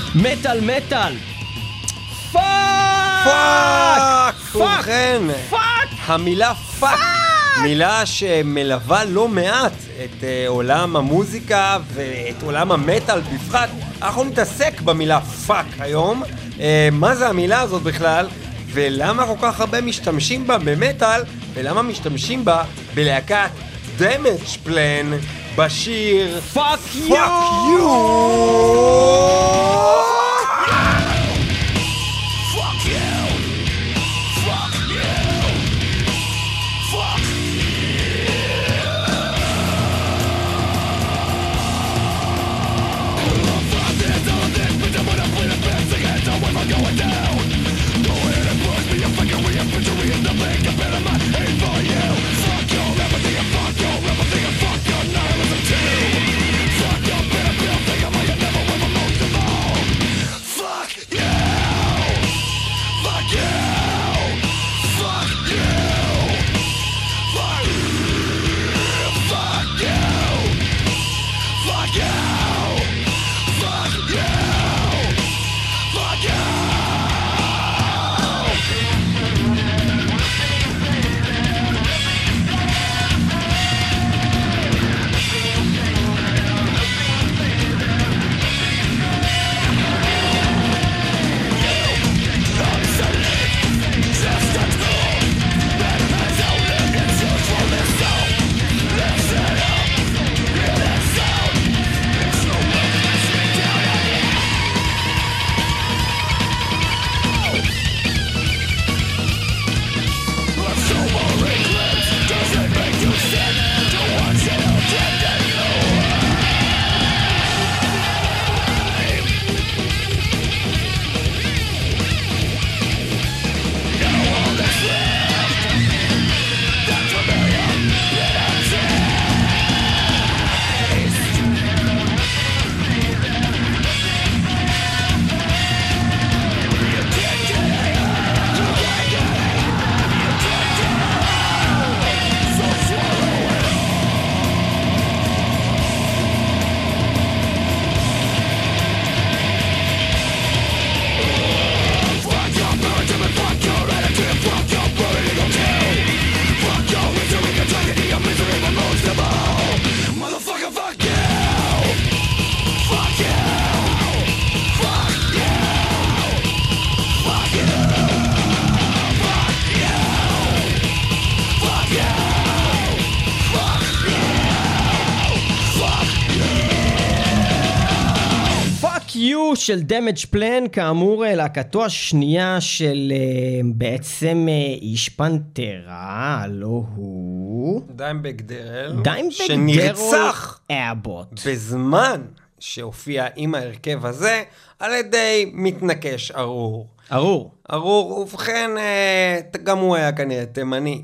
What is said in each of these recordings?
מטל מטל. פאק! ובכן, המילה פאק, מילה שמלווה לא מעט את עולם המוזיקה ואת עולם המטל בפרט. אנחנו נתעסק במילה פאק היום. מה זה המילה הזאת בכלל? ולמה כל כך הרבה משתמשים בה במטל? ולמה משתמשים בה בלהקת Damage Plan בשיר Fuck You! של Damage Plan, כאמור להקתו השנייה של בעצם איש פנטרה, לא הוא דיימבג דרל, שנרצח אבוט בזמן שהופיע עם ההרכב הזה על ידי מתנקש ארור, ובכן גם הוא היה כנראה תימני.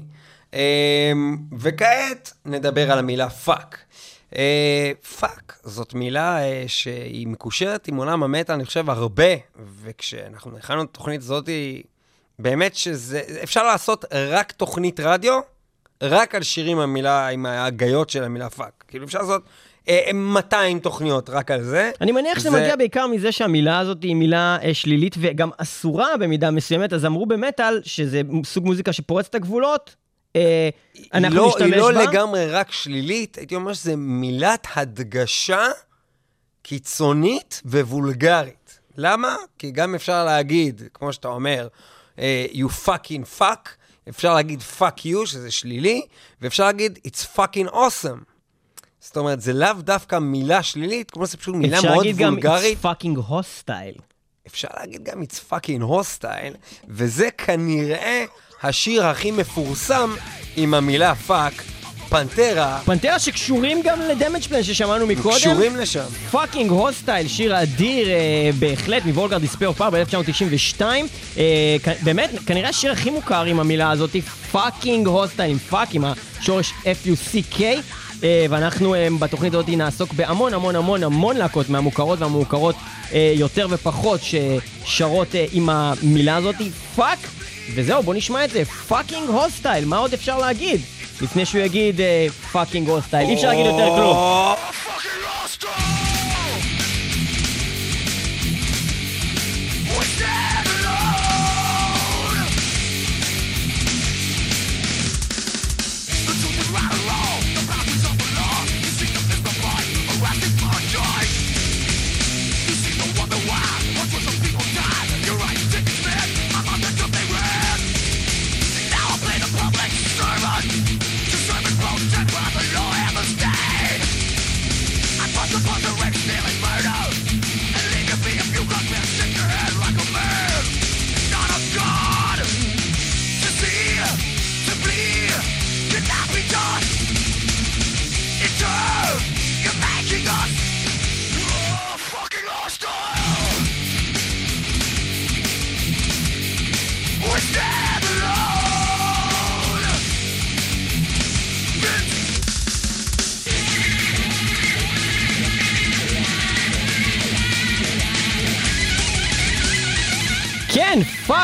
וכעת נדבר על המילה פאק. פאק, זאת מילה שהיא מקושרת עם עולם המטל, אני חושב הרבה, וכשאנחנו נכנסנו את התוכנית הזאת, באמת שזה, אפשר לעשות רק תוכנית רדיו, רק על שירים המילה, עם ההגיות של המילה פאק. כאילו אפשר לעשות 200 תוכניות רק על זה. אני מניח שזה מגיע בעיקר מזה שהמילה הזאת היא מילה שלילית, וגם אסורה במידה מסוימת, אז אמרו במטל שזה סוג מוזיקה שפורץ את הגבולות, אנחנו נשתמש בה. היא לא לגמרי רק שלילית, הייתי אומר שזה מילת הדגשה קיצונית ווולגרית. למה? כי גם אפשר להגיד, כמו שאתה אומר, you fucking fuck, אפשר להגיד fuck you, שזה שלילי, ואפשר להגיד it's fucking awesome. זאת אומרת, זה לאו דווקא מילה שלילית, כמו זה פשוט מילה מאוד וולגרית. אפשר להגיד גם it's fucking hostile. אפשר להגיד גם it's fucking hostile, וזה כנראה השיר הכי מפורסם עם המילה פאק, פנטרה. פנטרה שקשורים גם לדמג' פלן ששמענו מקודם. קשורים לשם. פאקינג הוסטייל, שיר אדיר בהחלט מוולגרד דיספייר אוף פאוור ב-1992. באמת, כנראה השיר הכי מוכר עם המילה הזאת, פאקינג הוסטייל, עם פאק, עם השורש F-U-C-K. ואנחנו בתוכנית הזאת נעסוק בהמון המון המון המון להקות מהמוכרות והמוכרות יותר ופחות ששרות עם המילה הזאת, פאק. וזהו, בוא נשמע את זה, פאקינג הוסטייל, מה עוד אפשר להגיד? לפני שהוא יגיד פאקינג הוסטייל, אי אפשר להגיד יותר כלום.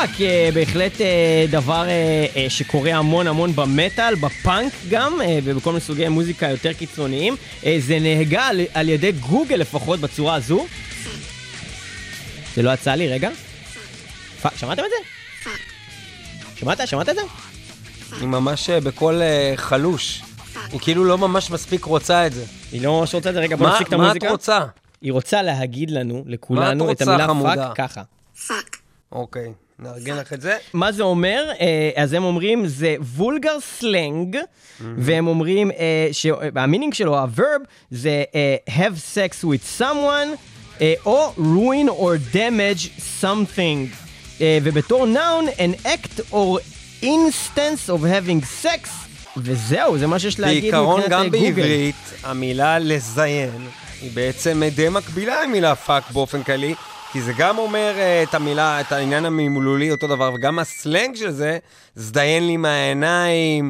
פאק, בהחלט דבר שקורה המון המון במטל, בפאנק גם, ובכל מיני סוגי מוזיקה יותר קיצוניים. זה נהגה על ידי גוגל לפחות בצורה הזו. זה לא יצא לי, רגע. שמעתם את זה? שמעת את זה? היא ממש בכל חלוש. היא כאילו לא ממש מספיק רוצה את זה. היא לא ממש רוצה את זה, רגע, בוא נפסיק את המוזיקה. מה את רוצה? היא רוצה להגיד לנו, לכולנו, את המילה פאק ככה. Fuck. אוקיי, נארגן לך את זה. מה זה אומר? אז הם אומרים, זה וולגר סלנג, והם אומרים שהמינינג שלו, הוורב, זה have sex with someone, או ruin or damage something. ובתור noun, an act or instance of having sex, וזהו, זה מה שיש להגיד מבחינת גוגל. בעיקרון גם בעברית, המילה לזיין, היא בעצם די מקבילה למילה פאק באופן כללי, כי זה גם אומר את המילה, את העניין המילולי אותו דבר, וגם הסלנג של זה, זדיין לי מהעיניים,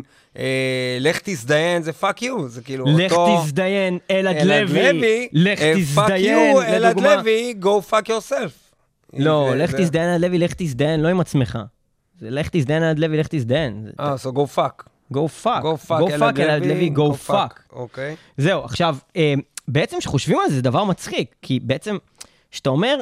לך תזדיין, זה פאק יו, זה כאילו לך אותו... תזדיין, אלעד לוי, לך תזדיין, פאק יו, אלעד לוי, go fuck yourself. לא, לך תזדיין, אלעד לוי, לך תזדיין, לא עם עצמך. זה לך תזדיין, אלעד לוי, לך תזדיין. so go fuck. go fuck, אלעד לוי, go fuck. אוקיי. זהו, עכשיו, בעצם שחושבים על זה, זה דבר מצחיק, כי בעצם, שאתה אומר,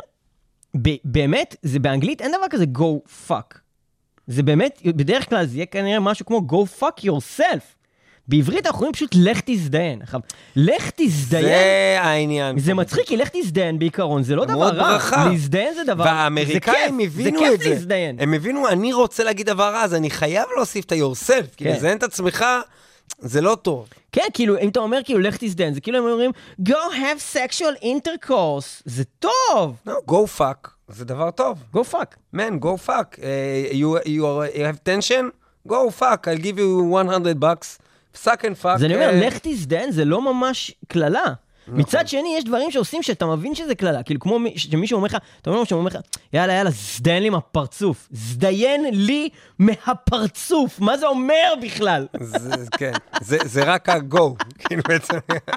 באמת, זה באנגלית, אין דבר כזה go fuck. זה באמת, בדרך כלל זה יהיה כנראה משהו כמו go fuck yourself. בעברית אנחנו אומרים פשוט לך תזדיין. לך תזדיין. זה העניין. זה מצחיק, כי לך תזדיין בעיקרון, זה לא דבר רע. להזדיין זה דבר, והאמריקאים הבינו את זה. להזדיין. הם הבינו, אני רוצה להגיד דבר רע, אז אני חייב להוסיף את yourself, כי לזיין את עצמך, זה לא טוב. כן, כאילו, אם אתה אומר כאילו לך תזדיין, זה כאילו הם אומרים, go have sexual intercourse. זה טוב. No, go fuck. זה דבר טוב. go fuck. Man, go fuck. You have tension? Go fuck. I'll give you $100. Suck and fuck. זה אני אומר, לך תזדיין, זה לא ממש כללה. מצד שני, יש דברים שעושים שאתה מבין שזה כללה. כאילו, כמו שמישהו אומר לך, אתה אומר שהוא אומר לך, יאללה, זדיין לי מהפרצוף. זדיין לי מהפרצוף. מה זה אומר בכלל? כן. זה רק הגו. כאילו בעצם...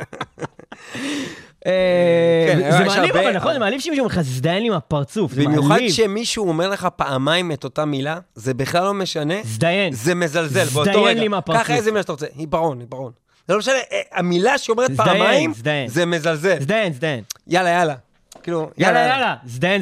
זה מעליב, אבל נכון, זה מעליב שמישהו אומר לך, זדיין לי מהפרצוף. במיוחד שמישהו אומר לך פעמיים את אותה מילה, זה בכלל לא משנה. זדיין. זה מזלזל. זדיין לי מהפרצוף. ככה איזה מילה שאתה רוצה. עיפרון. זה לא משנה, המילה שאומרת פעמיים, זה מזלזל. זדיין. יאללה. כאילו, יאללה. זדיין.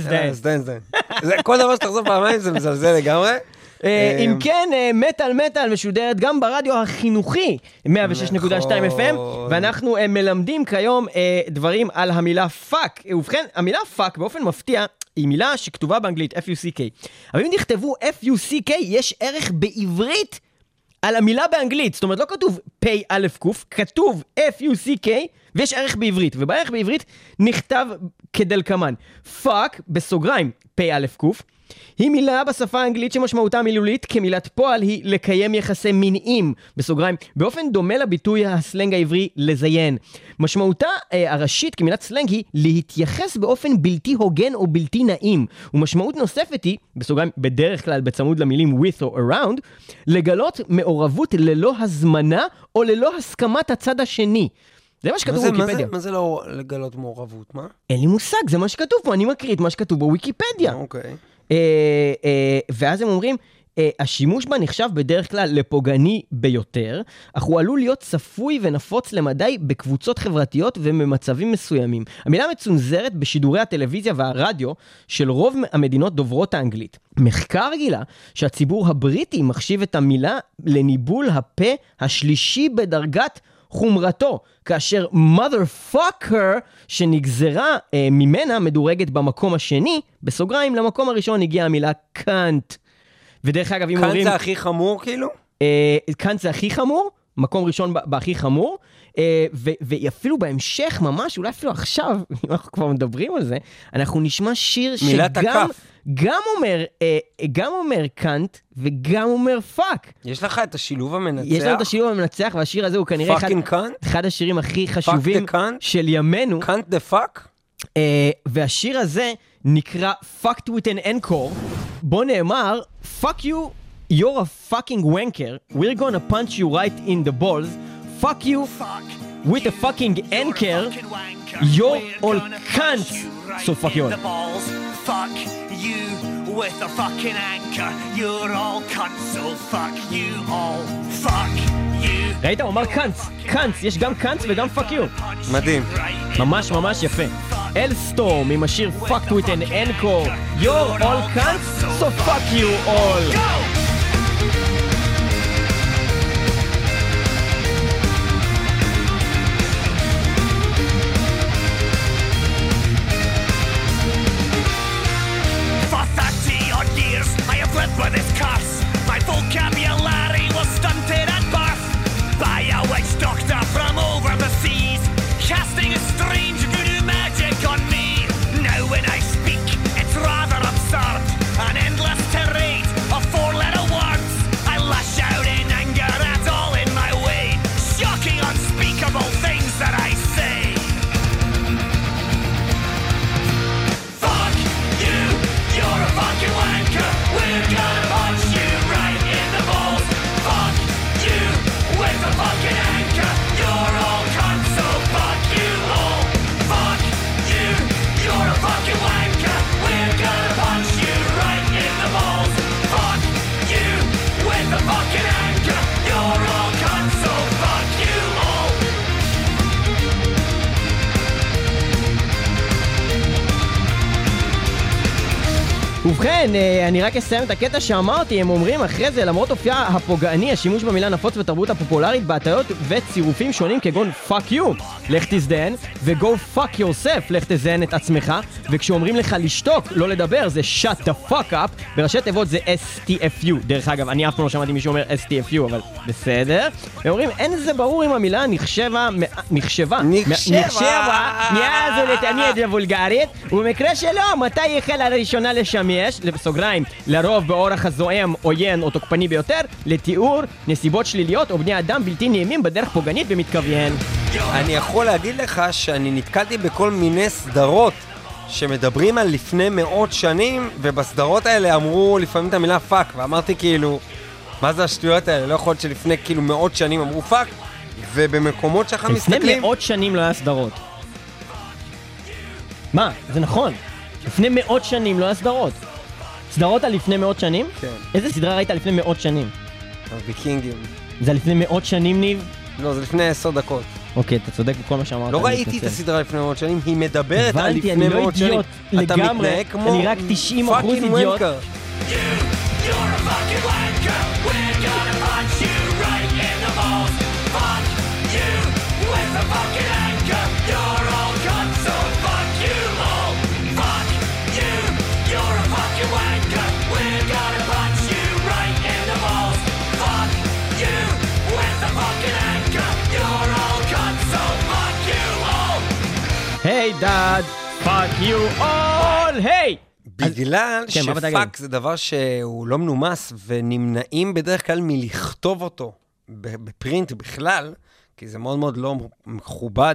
כל דבר שתחזור פעמיים זה מזלזל לגמרי. אם כן, מטל משודרת גם ברדיו החינוכי 106.2 FM, ואנחנו מלמדים כיום דברים על המילה פאק. ובכן, המילה פאק באופן מפתיע היא מילה שכתובה באנגלית F-U-C-K. אבל אם תכתבו F-U-C-K, יש ערך בעברית על המילה באנגלית. זאת אומרת, לא כתוב P-Q, כתוב F-U-C-K, ויש ערך בעברית. ובערך בעברית נכתב כדלקמן. פאק, בסוגריים, P-Q, היא מילה בשפה האנגלית שמשמעותה המילולית כמילת פועל היא לקיים יחסי מיניים, בסוגריים, באופן דומה לביטוי הסלנג העברי לזיין. משמעותה הראשית כמילת סלנג היא להתייחס באופן בלתי הוגן או בלתי נעים, ומשמעות נוספת היא, בסוגריים, בדרך כלל בצמוד למילים with or around, לגלות מעורבות ללא הזמנה או ללא הסכמת הצד השני. זה מה שכתוב בוויקיפדיה. מה זה לא לגלות מעורבות, מה? אין לי מושג, זה מה שכתוב פה, אני מקריא את מה שכתוב בוויקיפדיה. אוקיי. ואז הם אומרים, השימוש בה נחשב בדרך כלל לפוגעני ביותר, אך הוא עלול להיות צפוי ונפוץ למדי בקבוצות חברתיות ובמצבים מסוימים. המילה מצונזרת בשידורי הטלוויזיה והרדיו של רוב המדינות דוברות האנגלית. מחקר גילה שהציבור הבריטי מחשיב את המילה לניבול הפה השלישי בדרגת חומרתו, כאשר motherfucker שנגזרה ממנה מדורגת במקום השני, בסוגריים למקום הראשון הגיעה המילה קאנט. ודרך אגב, אם אומרים... קאנט זה הכי חמור כאילו? קאנט זה הכי חמור, מקום ראשון בהכי חמור, ואפילו בהמשך ממש, אולי אפילו עכשיו, אם אנחנו כבר מדברים על זה, אנחנו נשמע שיר גם אומר קאנט וגם אומר פאק. יש לך את השילוב המנצח? יש לנו את השילוב המנצח, והשיר הזה הוא כנראה אחד השירים הכי חשובים של ימינו. קאנט דה פאק? והשיר הזה נקרא Fucked with an Encore. בו נאמר, Fuck you, you're a fucking wanker. We're gonna punch you right in the balls. Fuck you with a fucking anchor. You're all cunts. So fuck you all. Fuck you with a fucking anchor. You're all cunts, so fuck you all. Fuck you. ראית? הוא אמר קאנץ, קאנץ, יש גם קאנץ וגם פאק יו. מדהים. ממש ממש יפה. אלסטורם עם השיר Fucked with an Encore. You're all cunts, so fuck you all. For 30 odd years I have lived with this curse. My vocabulary was stunted at birth by a witch doctor from over the seas, casting a strange voodoo magic on me. Now when I speak, it's rather absurd. An endless tirade of four-letter words. I lash out in anger at all in my way. Shocking, unspeakable things that I say. Fuck you, you're a fucking wanker. We're gonna punch you right in the balls. Fuck you, with a fucking anchor. You're all cunts, so fuck you all. Fuck you, you're a fucking wanker. We're gonna punch you right in the balls. Fuck you, with a fucking anchor. You're all cunts, so fuck you all. ובכן, אני רק אסיים את הקטע שאמרתי, הם אומרים אחרי זה, למרות אופייה הפוגעני, השימוש במילה נפוץ בתרבות הפופולרית, בהטיות וצירופים שונים כגון fuck you, לך תזדהן, ו-go fuck yourself, לך תזדהן את עצמך, וכשאומרים לך לשתוק, לא לדבר, זה shut the fuck up, בראשי תיבות זה STFU, דרך אגב, אני אף פעם לא שמעתי מישהו אומר STFU, אבל בסדר, ואומרים, אין זה ברור אם המילה נחשבה, מאז ולתמיד לבולגרית, ובמקרה שלא, מתי החלה לראשונה לשמש, בסוגריים, לרוב באורח הזוהם, עוין או תוקפני ביותר, לתיאור נסיבות שליליות או בני אדם בלתי נעימים בדרך פוגענית ומתכוון. אני יכול להגיד לך שאני נתקלתי בכל מיני סדרות שמדברים על לפני מאות שנים, ובסדרות האלה אמרו לפעמים את המילה פאק, ואמרתי כאילו, מה זה השטויות האלה? לא יכול להיות שלפני כאילו מאות שנים אמרו פאק, ובמקומות שאנחנו מסתכלים... לפני מאות שנים לא היה סדרות. מה? זה נכון. לפני מאות שנים לא היה סדרות. סדרות על לפני מאות שנים? כן. איזה סדרה ראית לפני מאות שנים? הוויקינגים. זה לפני מאות שנים, ניב? לא, זה לפני 10 דקות. אוקיי, אתה צודק בכל מה שאמרת. לא ראיתי את הסדרה לפני מאות שנים, היא מדברת על לפני מאות שנים. אתה מתנהג כמו... אני רק 90% אידיוט. היי דאד, פאק יו אול, היי! בגלל שפאק זה דבר שהוא לא מנומס, ונמנעים בדרך כלל מלכתוב אותו בפרינט בכלל, כי זה מאוד מאוד לא מכובד,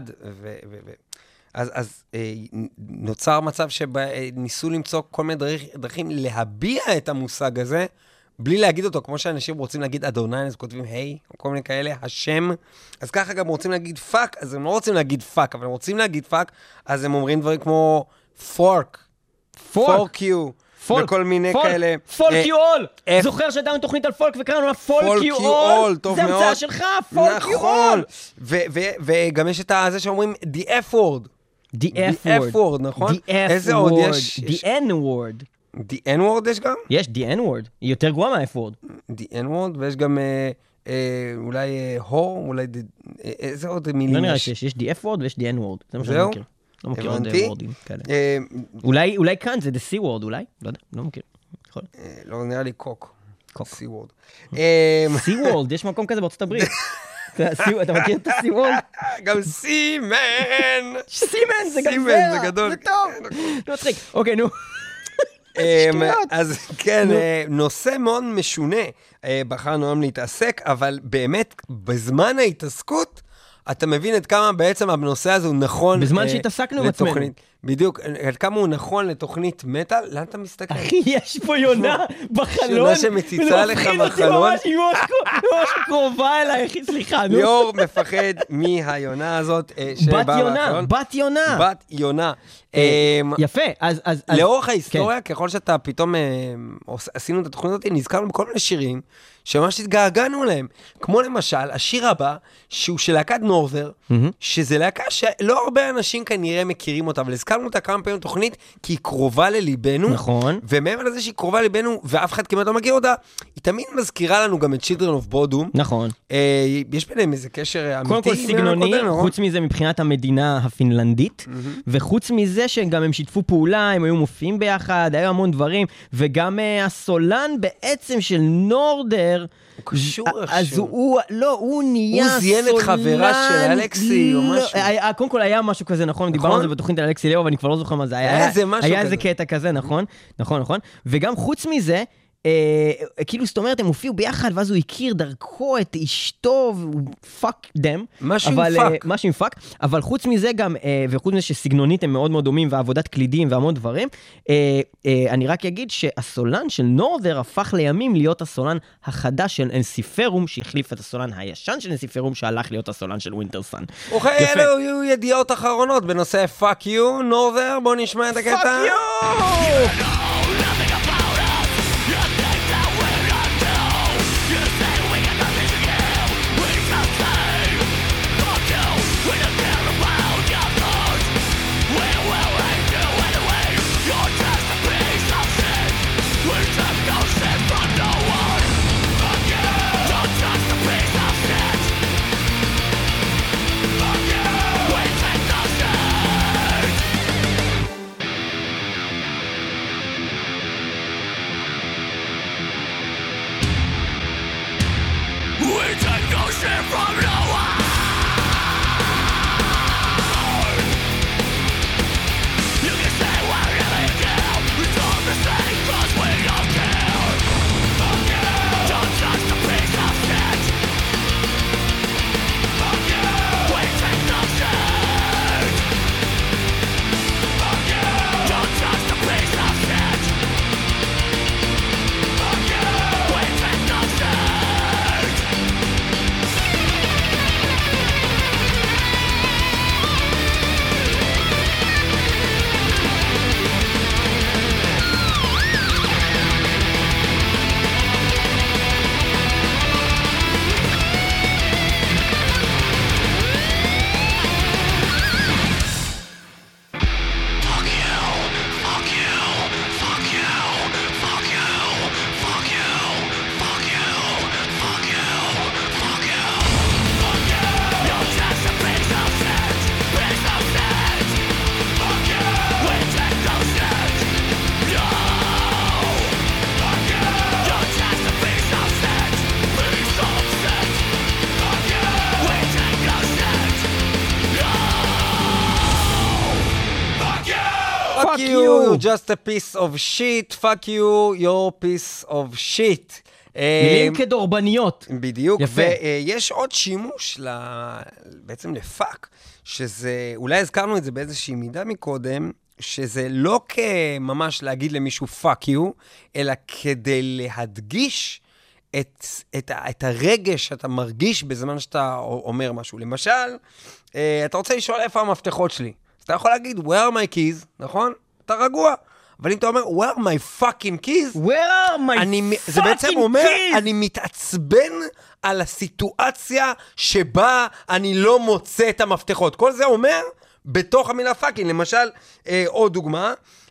אז נוצר מצב שניסו למצוא כל מיני דרכים להביע את המושג הזה, בלי להגיד אותו, כמו שאנשים רוצים להגיד אדוני, אז כותבים היי, או כל מיני כאלה, השם, אז ככה גם רוצים להגיד פאק, אז הם לא רוצים להגיד פאק, אבל הם רוצים להגיד פאק, אז הם אומרים דברים כמו פורק, פורק יו, וכל מיני כאלה. פולק יו אול! זוכר שהייתה תוכנית על פולק וקראנו לה פולק יו אול? זה המצאה שלך, פולק יו אול! וגם יש את זה שאומרים the F word. the F word, נכון? איזה עוד יש? the N word. the N word יש גם? יש the N word, היא יותר גרועה מה-F word. the N word, ויש גם אולי הו, אולי איזה עוד מילים יש? לא נראה שיש the F word ויש the N word, זה מה שאני מכיר. לא מכיר עוד וורדים כאלה. אולי כאן זה the C word, אולי? לא יודע, לא מכיר. לא, נראה לי קוק. C word. C word, יש מקום כזה בארצות הברית. אתה מכיר את ה-C word? גם סימן! סימן זה גם סימן זה גדול. זה טוב. לא מצחיק. אוקיי, נו. אז כן, נושא מאוד משונה בחרנו היום להתעסק, אבל באמת בזמן ההתעסקות, אתה מבין את כמה בעצם הנושא הזה הוא נכון. בזמן שהתעסקנו עם עצמנו. בדיוק, עד כמה הוא נכון לתוכנית מטל, לאן אתה מסתכל? אחי, יש פה יונה בחלון. יונה שמציצה לך בחלון. היא ממש קרובה אליי, אחי, סליחה, נו. ליאור מפחד מהיונה הזאת בת יונה. יפה, אז... לאורך ההיסטוריה, ככל שאתה פתאום עשינו את התוכנית הזאת, נזכרנו בכל מיני שירים שממש התגעגענו להם. כמו למשל, השיר הבא, שהוא של להקת נורת'ר, שזה להקה שלא הרבה אנשים כנראה מכירים אותה, אבל הזכרנו אותה כמה פעמים תוכנית, כי היא קרובה לליבנו. נכון. ומעבר לזה שהיא קרובה לליבנו, ואף אחד כמעט לא מכיר אותה, היא תמיד מזכירה לנו גם את Children of Bodom. נכון. יש ביניהם איזה קשר אמיתי. קודם כל סגנוני, חוץ מזה מבחינת המדינה הפינלנדית, וחוץ מזה שגם הם שיתפו פעולה, הם היו מופיעים ביחד, היו המון דברים, וגם הסולן בעצם של נורת'ר, הוא קשור אז הוא נהיה סולן. הוא זיין את חברה של אלכסי או משהו. קודם כל היה משהו כזה, נכון? דיברנו על זה בתוכנית על אלכסי לאו, ואני כבר לא זוכר מה זה. היה איזה קטע כזה, נכון? נכון. וגם חוץ מזה, כאילו זאת אומרת, הם הופיעו ביחד, ואז הוא הכיר דרכו את אשתו, והוא פאק דם. משהו עם פאק. אבל חוץ מזה גם, וחוץ מזה שסגנונית הם מאוד מאוד דומים, ועבודת קלידים והמון דברים, אני רק אגיד שהסולן של נורת'ר הפך לימים להיות הסולן החדש של אנסיפרום, שהחליף את הסולן הישן של אנסיפרום, שהלך להיות הסולן של ווינטרסן. אוקיי, אלו היו ידיעות אחרונות בנושא פאק יו, נורת'ר, בוא נשמע את הקטע. פאק יו! Fuck you, you're just a piece of shit. Fuck you, you're piece of shit. מילים כדורבניות. בדיוק, ויש עוד שימוש בעצם לפאק, שזה, אולי הזכרנו את זה באיזושהי מידה מקודם, שזה לא כממש להגיד למישהו fuck you, אלא כדי להדגיש את הרגש שאתה מרגיש בזמן שאתה אומר משהו. למשל, אתה רוצה לשאול איפה המפתחות שלי. אתה יכול להגיד, where are my keys, נכון? אתה רגוע. אבל אם אתה אומר, where are my fucking keys? where are my fucking keys? זה בעצם אומר, אני מתעצבן על הסיטואציה שבה אני לא מוצא את המפתחות. כל זה אומר, בתוך המילה fucking. למשל, עוד דוגמה,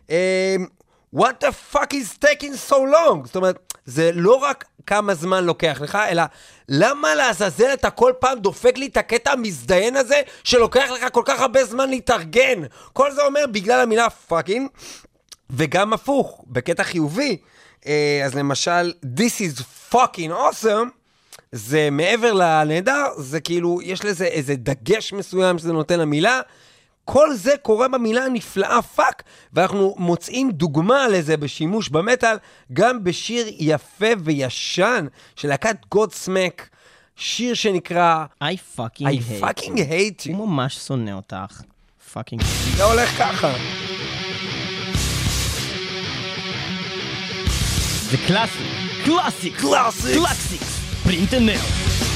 what the fuck is taking so long? זאת אומרת, זה לא רק כמה זמן לוקח לך, אלא למה לעזאזל אתה כל פעם דופק לי את הקטע המזדיין הזה, שלוקח לך כל כך הרבה זמן להתארגן? כל זה אומר בגלל המילה fucking, וגם הפוך, בקטע חיובי. אז למשל, this is fucking awesome, זה מעבר לנהדר, זה כאילו, יש לזה איזה דגש מסוים שזה נותן למילה, כל זה קורה במילה הנפלאה פאק, ואנחנו מוצאים דוגמה לזה בשימוש במטל, גם בשיר יפה וישן של להקת Godsmack, שיר שנקרא I fucking hate you. הוא ממש שונא אותך. פאקינג. זה הולך ככה. זה קלאסי. קלאסיק. קלאסיק. פרינט אנד נאו.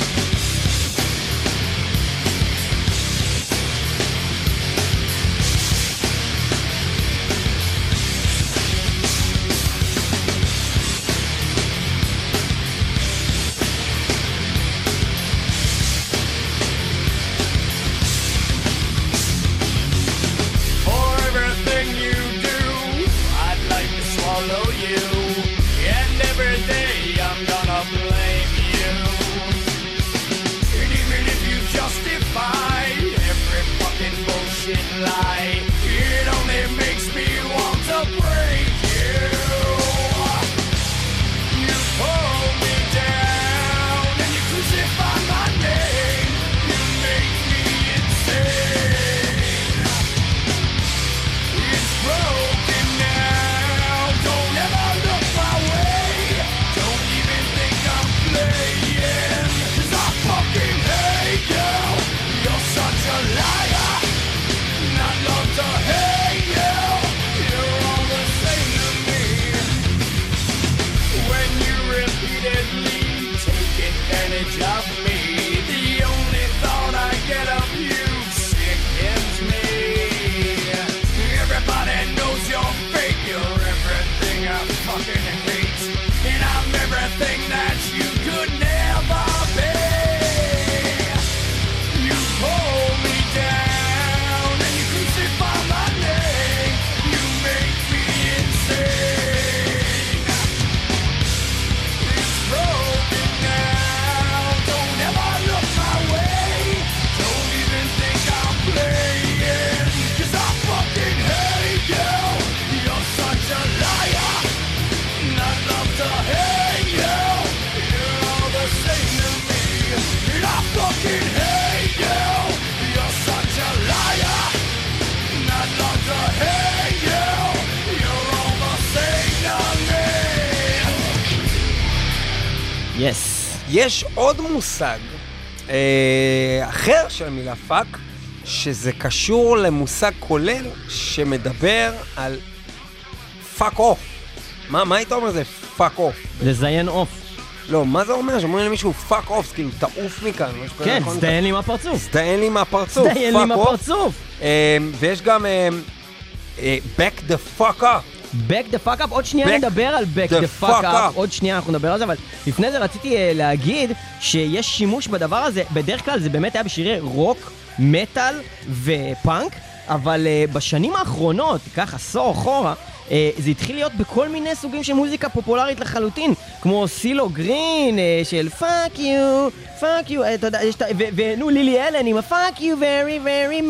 יש עוד מושג אחר של המילה פאק, שזה קשור למושג כולל שמדבר על פאק אוף. מה היית אומר זה פאק אוף? לזיין אוף. לא, מה זה אומר? שאומרים למישהו פאק אוף, כאילו תעוף מכאן. כן, סתיין לי מהפרצוף. סתיין לי מהפרצוף. סתיין לי מהפרצוף. ויש גם back the fuck up. back the fuck up, עוד שנייה נדבר על back the fuck up, עוד שנייה אנחנו נדבר על זה, אבל לפני זה רציתי להגיד שיש שימוש בדבר הזה, בדרך כלל זה באמת היה בשירי רוק, מטל ופאנק, אבל בשנים האחרונות, כך עשור אחורה, זה התחיל להיות בכל מיני סוגים של מוזיקה פופולרית לחלוטין, כמו סילו גרין של fuck you, אתה יודע, ונו לילי אלן עם ה-fuck you very very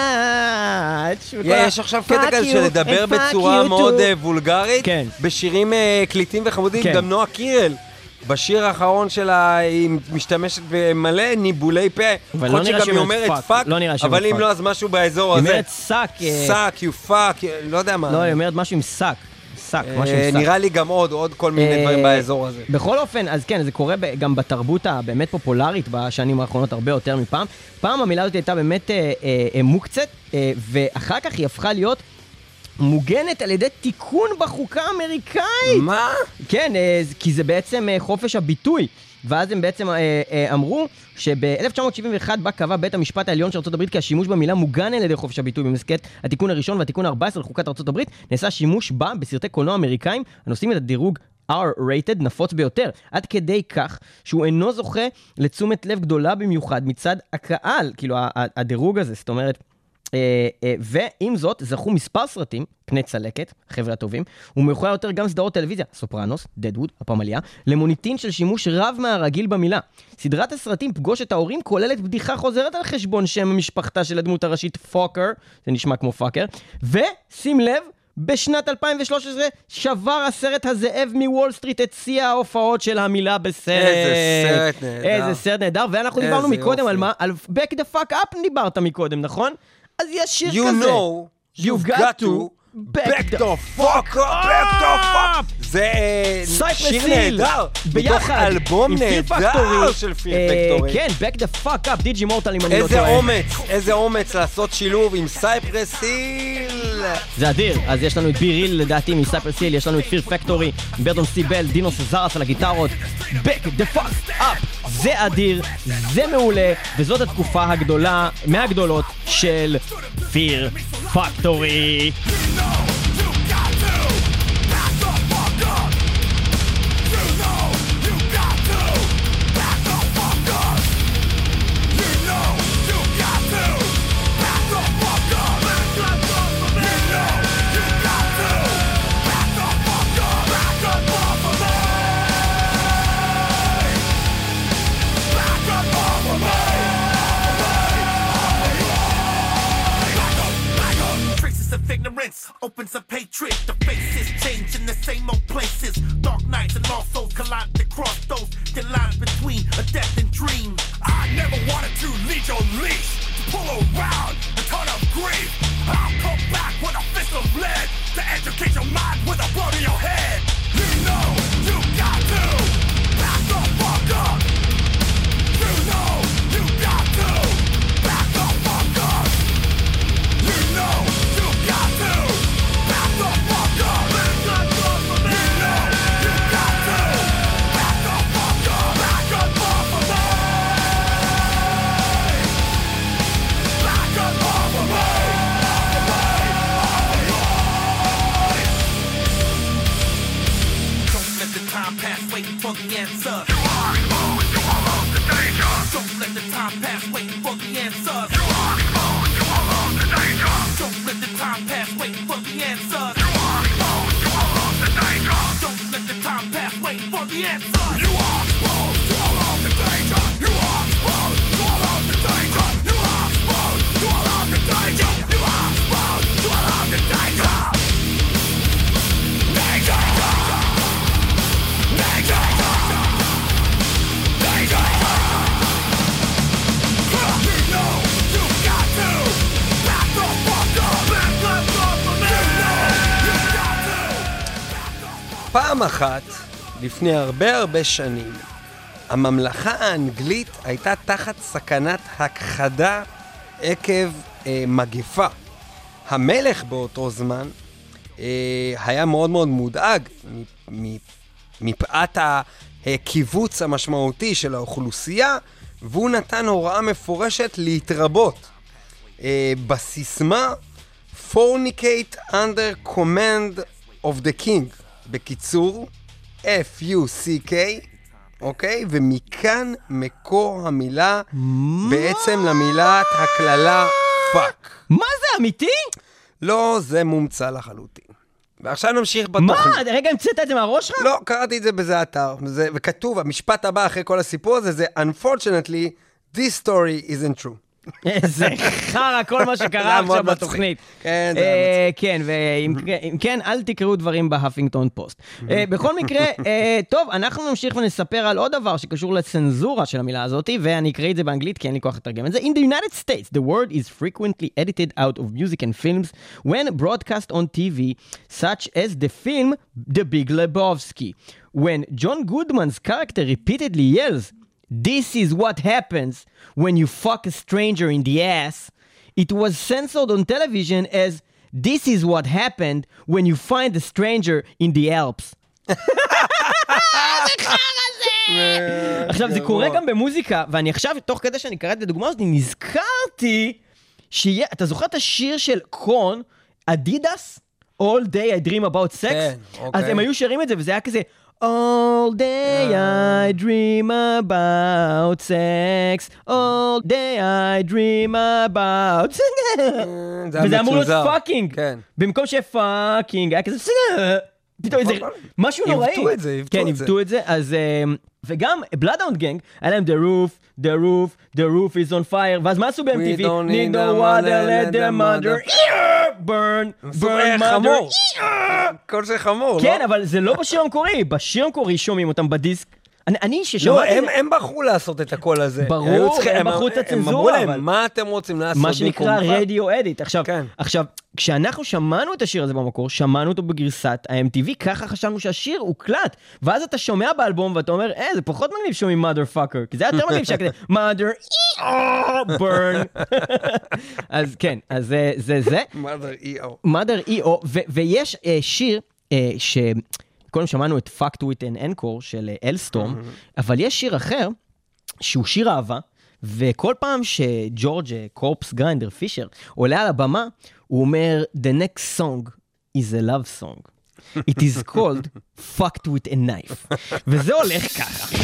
much. יש עכשיו קטע כזה של לדבר בצורה מאוד וולגרית, בשירים קליטים וחמודים, גם נועה קירל. בשיר האחרון שלה היא משתמשת במלא ניבולי פה. אבל לא נראה שהיא אומרת פאק, אבל אם לא אז משהו באזור הזה. היא אומרת סאק. סאק, יו פאק, לא יודע מה. לא, היא אומרת משהו עם סאק. סאק, משהו עם סאק. נראה לי גם עוד כל מיני דברים באזור הזה. בכל אופן, אז כן, זה קורה גם בתרבות הבאמת פופולרית בשנים האחרונות הרבה יותר מפעם. פעם המילה הזאת הייתה באמת מוקצת, ואחר כך היא הפכה להיות מוגנת על ידי תיקון בחוקה האמריקאית. מה? כן, כי זה בעצם חופש הביטוי. ואז הם בעצם אמרו שב-1971 בה קבע בית המשפט העליון של ארצות הברית כי השימוש במילה מוגן על ידי חופש הביטוי במסגרת התיקון הראשון והתיקון ה-14 לחוקת ארצות הברית, נעשה שימוש בה בסרטי קולנוע אמריקאים הנושאים את הדירוג R-rated נפוץ ביותר, עד כדי כך שהוא אינו זוכה לתשומת לב גדולה במיוחד מצד הקהל, כאילו הדירוג הזה, זאת אומרת, ועם זאת זכו מספר סרטים, פני צלקת, חבר'ה הטובים, ומאוחר יותר גם סדרות טלוויזיה, סופרנוס, דדווד, הפמליה, למוניטין של שימוש רב מהרגיל במילה. סדרת הסרטים פגוש את ההורים כוללת בדיחה חוזרת על חשבון שם המשפחתה של הדמות הראשית פוקר, זה נשמע כמו פאקר, ושים לב, בשנת 2013 שבר הסרט הזאב מוול סטריט את שיא ההופעות של המילה בסרט. איזה סרט נהדר, ואנחנו דיברנו מקודם על מה? על Back the Fuck Up דיברת מקודם, נכון? אז יש שיר כזה. You know, you've got to Back the fuck up! זה שיר נהדר, מתוך אלבום נהדר של פיר פקטורי. כן, Back the fuck up, דיג'י מורטל אם אני לא טועה. איזה אומץ לעשות שילוב עם סייפרס היל. זה אדיר, אז יש לנו את בי ריל לדעתי מסייפרס היל, יש לנו את פיר פקטורי, ברדון סיבל, דינו סזרס על הגיטרות. Back the fuck up! זה אדיר, זה מעולה, וזאת התקופה הגדולה, מהגדולות של פיר פקטורי. Opens a hatred, the faces change in the same old places. Dark nights and lost souls collide to cross those thin lines between a death and dream. I never wanted to lead your leash, pull around a ton of grief. I'll come back with a fist of lead to educate your mind with a blow to your head. You know you got to back the fuck up. You know you got to back the fuck up. You know you got to. For the answer. You are exposed, you are lost to danger. Don't let the time pass waiting for the answer. You are exposed, you are lost to danger. Don't let the time pass waiting for the answer. You are exposed, you are lost to danger. Don't let the time pass waiting for the answer. You are exposed, you are lost to danger. You are exposed, you are lost to danger. You are exposed, you are lost to danger. You are exposed, you are lost to danger. פעם אחת, לפני הרבה שנים, הממלכה האנגלית הייתה תחת סכנת הכחדה עקב מגפה. המלך באותו זמן היה מאוד מודאג מפאת הקיבוץ המשמעותי של האוכלוסייה, והוא נתן הוראה מפורשת להתרבות. בסיסמה Fornicate under command of the king, בקיצור F-U-C-K, אוקיי? ומכאן מקור המילה בעצם למילת הכללה פאק. מה זה, אמיתי? לא, זה מומצא לחלוטין. ועכשיו נמשיך בתוכנית. מה? רגע, המצאת את זה מהראש שלך? לא, קראתי את זה בזה אתר, וכתוב, המשפט הבא אחרי כל הסיפור הזה, זה Unfortunately, this story isn't true. איזה חרא, כל מה שקרה עכשיו בתוכנית. כן, זה היה מצחיק. כן, ואם כן, אל תקראו דברים בהפינגטון פוסט. בכל מקרה, טוב, אנחנו נמשיך ונספר על עוד דבר שקשור לצנזורה של המילה הזאת, ואני אקרא את זה באנגלית, כי אין לי כוח לתרגם את זה. In the United States, the word is frequently edited out of music and films when broadcast on TV, such as the film The Big Lebowski. When John Goodman's character repeatedly yells, "This is what happens when you fuck a stranger in the ass," it was censored on television as "This is what happened when you find a stranger in the Alps." עכשיו, זה קורה גם במוזיקה, ואני עכשיו, תוך כדי שאני קראתי את הדוגמה הזאת, נזכרתי אתה זוכר את השיר של קון, אדידס? All day I dream about sex? אז הם היו שרים את זה, וזה היה כזה... All day I dream about sex, all day I dream about sex. וזה אמור להיות פאקינג. במקום שפאקינג, היה כזה פתאום איזה משהו נוראי. עיוותו את זה. כן, עיוותו את זה. אז וגם Bloodhound Gang, היה להם the roof is on fire, ואז מה עשו ב-MTV? Need no water, let the mother burn mother. כל זה חמור, לא? כן, אבל זה לא בשיר המקורי. בשיר המקורי שומעים אותם בדיסק אני לא, ששמעתי... הם בחרו לעשות את הקול הזה. ברור, הם בחרו את הם אמרו הצנזורה, אבל... להם, מה אתם רוצים לעשות? מה שנקרא במקומך?" רדיו אדיט. כן. עכשיו, כשאנחנו שמענו את השיר הזה במקור, שמענו אותו בגרסת ה-MTV, ככה חשבנו שהשיר הוקלט, ואז אתה שומע באלבום ואתה אומר, זה פחות מגניב שומעים motherfucker, כי זה יותר מגניב שכזה, mother, burn. אז כן, אז זה. mother E.O. ויש שיר קודם שמענו את Fucked with an Encore של אלסטורם, אבל יש שיר אחר, שהוא שיר אהבה, וכל פעם שג'ורג' קורפס גריינדר פישר עולה על הבמה, הוא אומר, the next song is a love song. It is called Fucked with a Knife. וזה הולך ככה.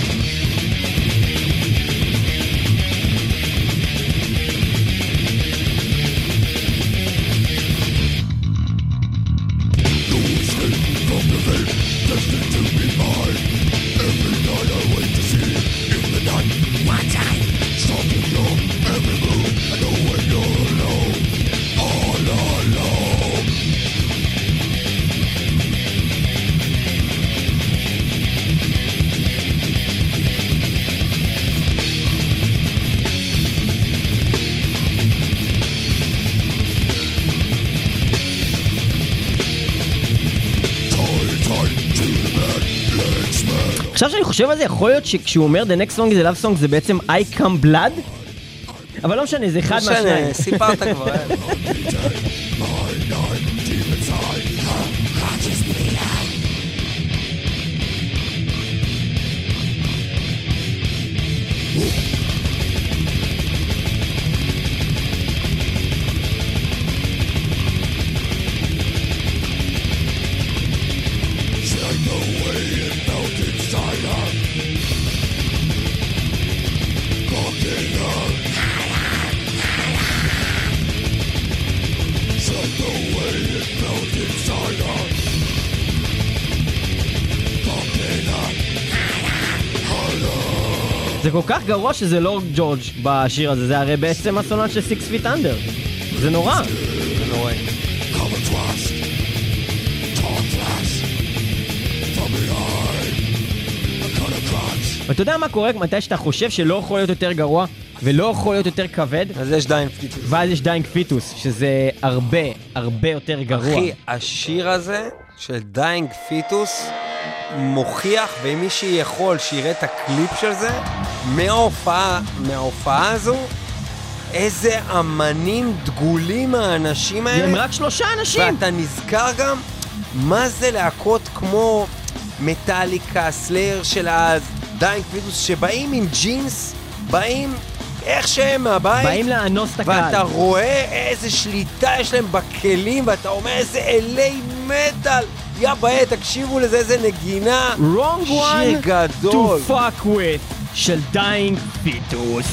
עכשיו שאני חושב על זה, יכול להיות שכשהוא אומר The next song is a love song זה בעצם I come blood? אבל לא משנה, זה אחד מהשניים. סיפרת כבר. זה כל כך גרוע שזה לא ג'ורג' בשיר הזה, זה הרי בעצם הסולן של 6 Feet Under. זה נורא. זה נורא. ואתה יודע מה קורה מתי שאתה חושב שלא יכול להיות יותר גרוע ולא יכול להיות יותר כבד? אז יש דיינג פיטוס. ואז יש דיינג פיטוס, שזה הרבה, הרבה יותר גרוע. אחי, השיר הזה של דיינג פיטוס מוכיח, ואם מישהו יכול שיראה את הקליפ של זה, מההופעה הזו, איזה אמנים דגולים האנשים האלה. הם רק 3 אנשים. ואתה נזכר גם מה זה להקות כמו מטאליקה, סלייר של דיינג פיטוס, שבאים עם ג'ינס, באים איך שהם מהבית. באים לאנוס את הקהל. ואתה רואה איזה שליטה יש להם בכלים, ואתה אומר איזה אלי מטל. יא בעיה, תקשיבו לזה, איזה נגינה. Wrong one שיר גדול. to fuck with של דיינג פיטוס.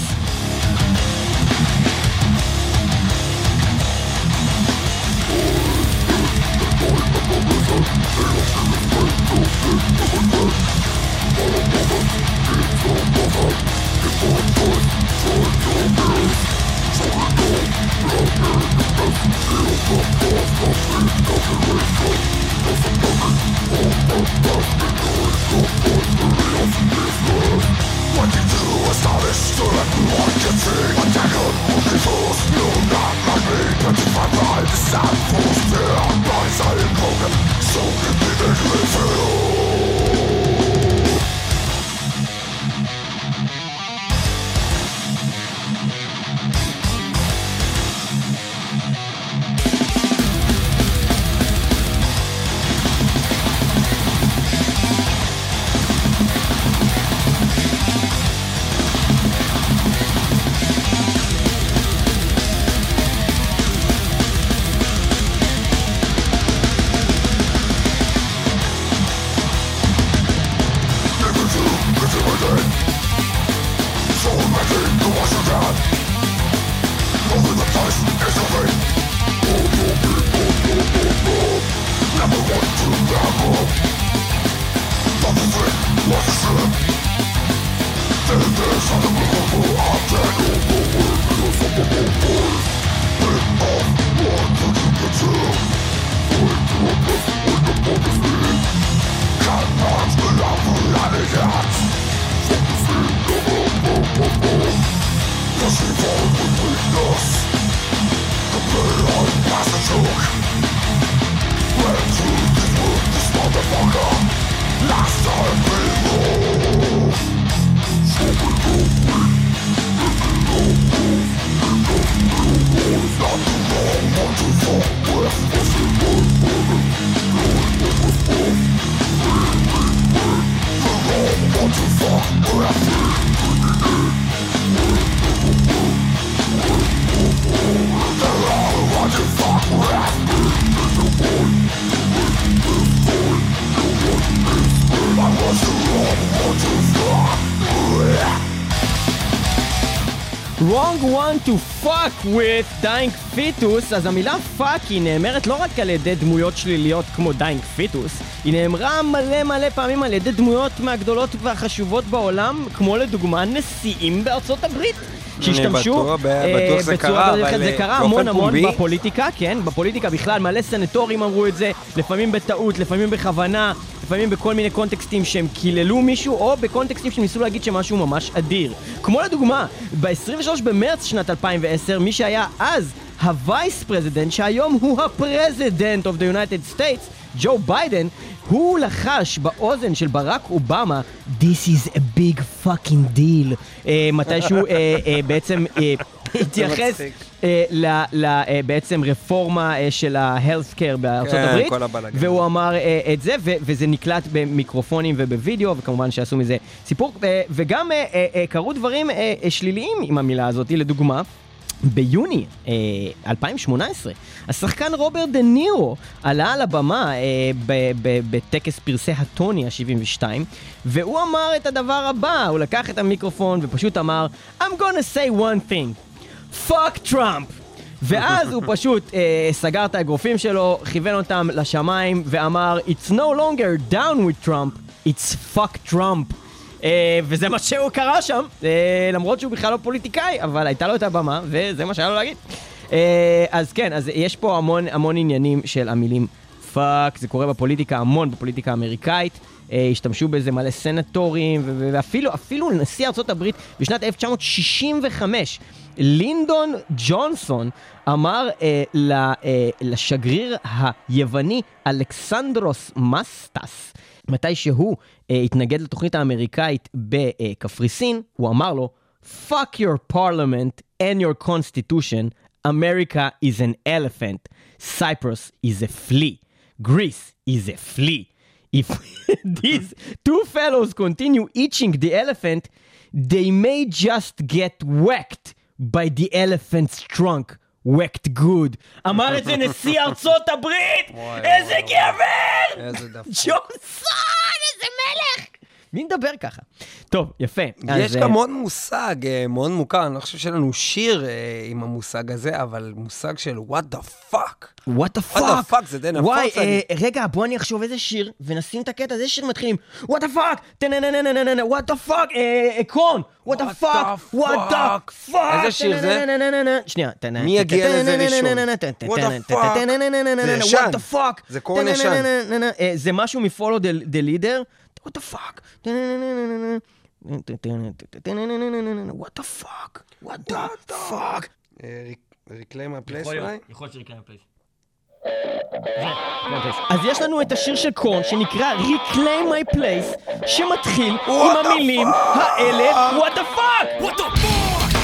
Wrong one to fuck with dying fetus. אז המילה fuck היא נאמרת לא רק על ידי דמויות שליליות כמו dying fetus, היא נאמרה מלא פעמים על ידי דמויות מהגדולות והחשובות בעולם, כמו לדוגמה נשיאים בארצות הברית. שהשתמשו בטוח זה קרה, אבל זה קרה המון בפוליטיקה, כן, בפוליטיקה בכלל, מלא סנטורים אמרו את זה, לפעמים בטעות, לפעמים בכוונה, לפעמים בכל מיני קונטקסטים שהם קיללו מישהו, או בקונטקסטים שניסו להגיד שמשהו ממש אדיר. כמו לדוגמה, ב-23 במרץ שנת 2010, מי שהיה אז הווייס פרזידנט, שהיום הוא הפרזידנט of the United States, ג'ו ביידן, הוא לחש באוזן של ברק אובמה, This is a big fucking deal. מתישהו בעצם התייחס בעצם רפורמה של ה-health care בארצות הברית, והוא אמר את זה, וזה נקלט במיקרופונים ובווידאו, וכמובן שעשו מזה סיפור, וגם קרו דברים שליליים עם המילה הזאת, לדוגמה, ביוני 2018, השחקן רוברט דה נירו עלה על הבמה בטקס פרסי הטוני ה-72, והוא אמר את הדבר הבא, הוא לקח את המיקרופון ופשוט אמר, I'm gonna say one thing, fuck Trump. ואז הוא פשוט סגר את האגרופים שלו, כיוון אותם לשמיים ואמר, It's no longer down with Trump, it's fuck Trump. וזה מה שהוא קרא שם, למרות שהוא בכלל לא פוליטיקאי, אבל הייתה לו את הבמה, וזה מה שהיה לו להגיד. אז כן, אז יש פה המון עניינים של המילים פאק, זה קורה בפוליטיקה, המון בפוליטיקה האמריקאית, השתמשו בזה מלא סנטורים, ואפילו נשיא ארצות הברית בשנת 1965, לינדון ג'ונסון אמר לשגריר היווני אלכסנדרוס מסטס, מתי שהוא התנגד לתוכנית האמריקאית בקפריסין, הוא אמר לו, fuck your parliament and your constitution, America is an elephant, Cyprus is a flea, Greece is a flea. If these two fellows continue eating the elephant, they may just get whacked by the elephant's trunk. whacked good. אמר את זה נשיא ארצות הברית! איזה גבר! ג'ונסון! איזה מלך! מי נדבר ככה? טוב, יפה. יש גם עוד מושג מאוד מוכר, אני לא חושב שלנו שיר עם המושג הזה, אבל מושג של what the fuck. what the fuck? what the fuck זה די נפוץ. וואי, רגע, בוא אני אחשוב איזה שיר, ונשים את הקטע, איזה שיר מתחילים. what the fuck? what the fuck? קרון. what the fuck? what the fuck? איזה שיר זה? שנייה. מי יגיע לזה ראשון? what the fuck? זה ישן. זה קורן ישן. זה משהו מ-Follow the Leader. What the fuck? What the fuck? What the fuck? Reclaim my place אולי? יכול להיות ש-Reclaim my place. אז יש לנו את השיר של קורן שנקרא Reclaim my place, שמתחיל עם המילים האלה What the fuck? What the fuck?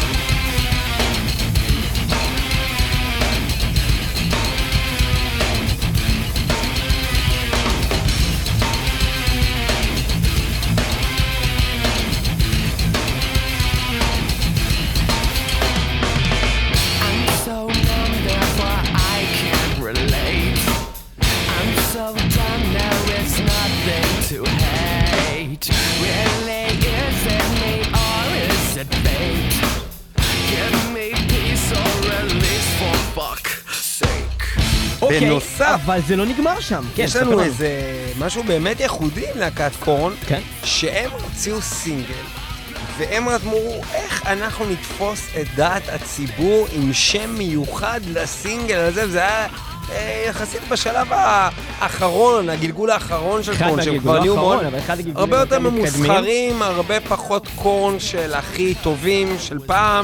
To hate really is it me or is it fate? Give me peace or release for fuck's sake. אוקיי, בנוסף, אבל זה לא נגמר שם. יש לנו איזה משהו באמת ייחודי עם להקת קורן, שהם הוציאו סינגל, והם רתמו איך אנחנו נתפוס את דעת הציבור עם שם מיוחד לסינגל הזה, וזה היה יחסית בשלב האחרון, הגלגול האחרון של קורן, שהם כבר נהיו מאוד הרבה יותר ממוסחרים, הרבה פחות קורן של הכי טובים של פעם,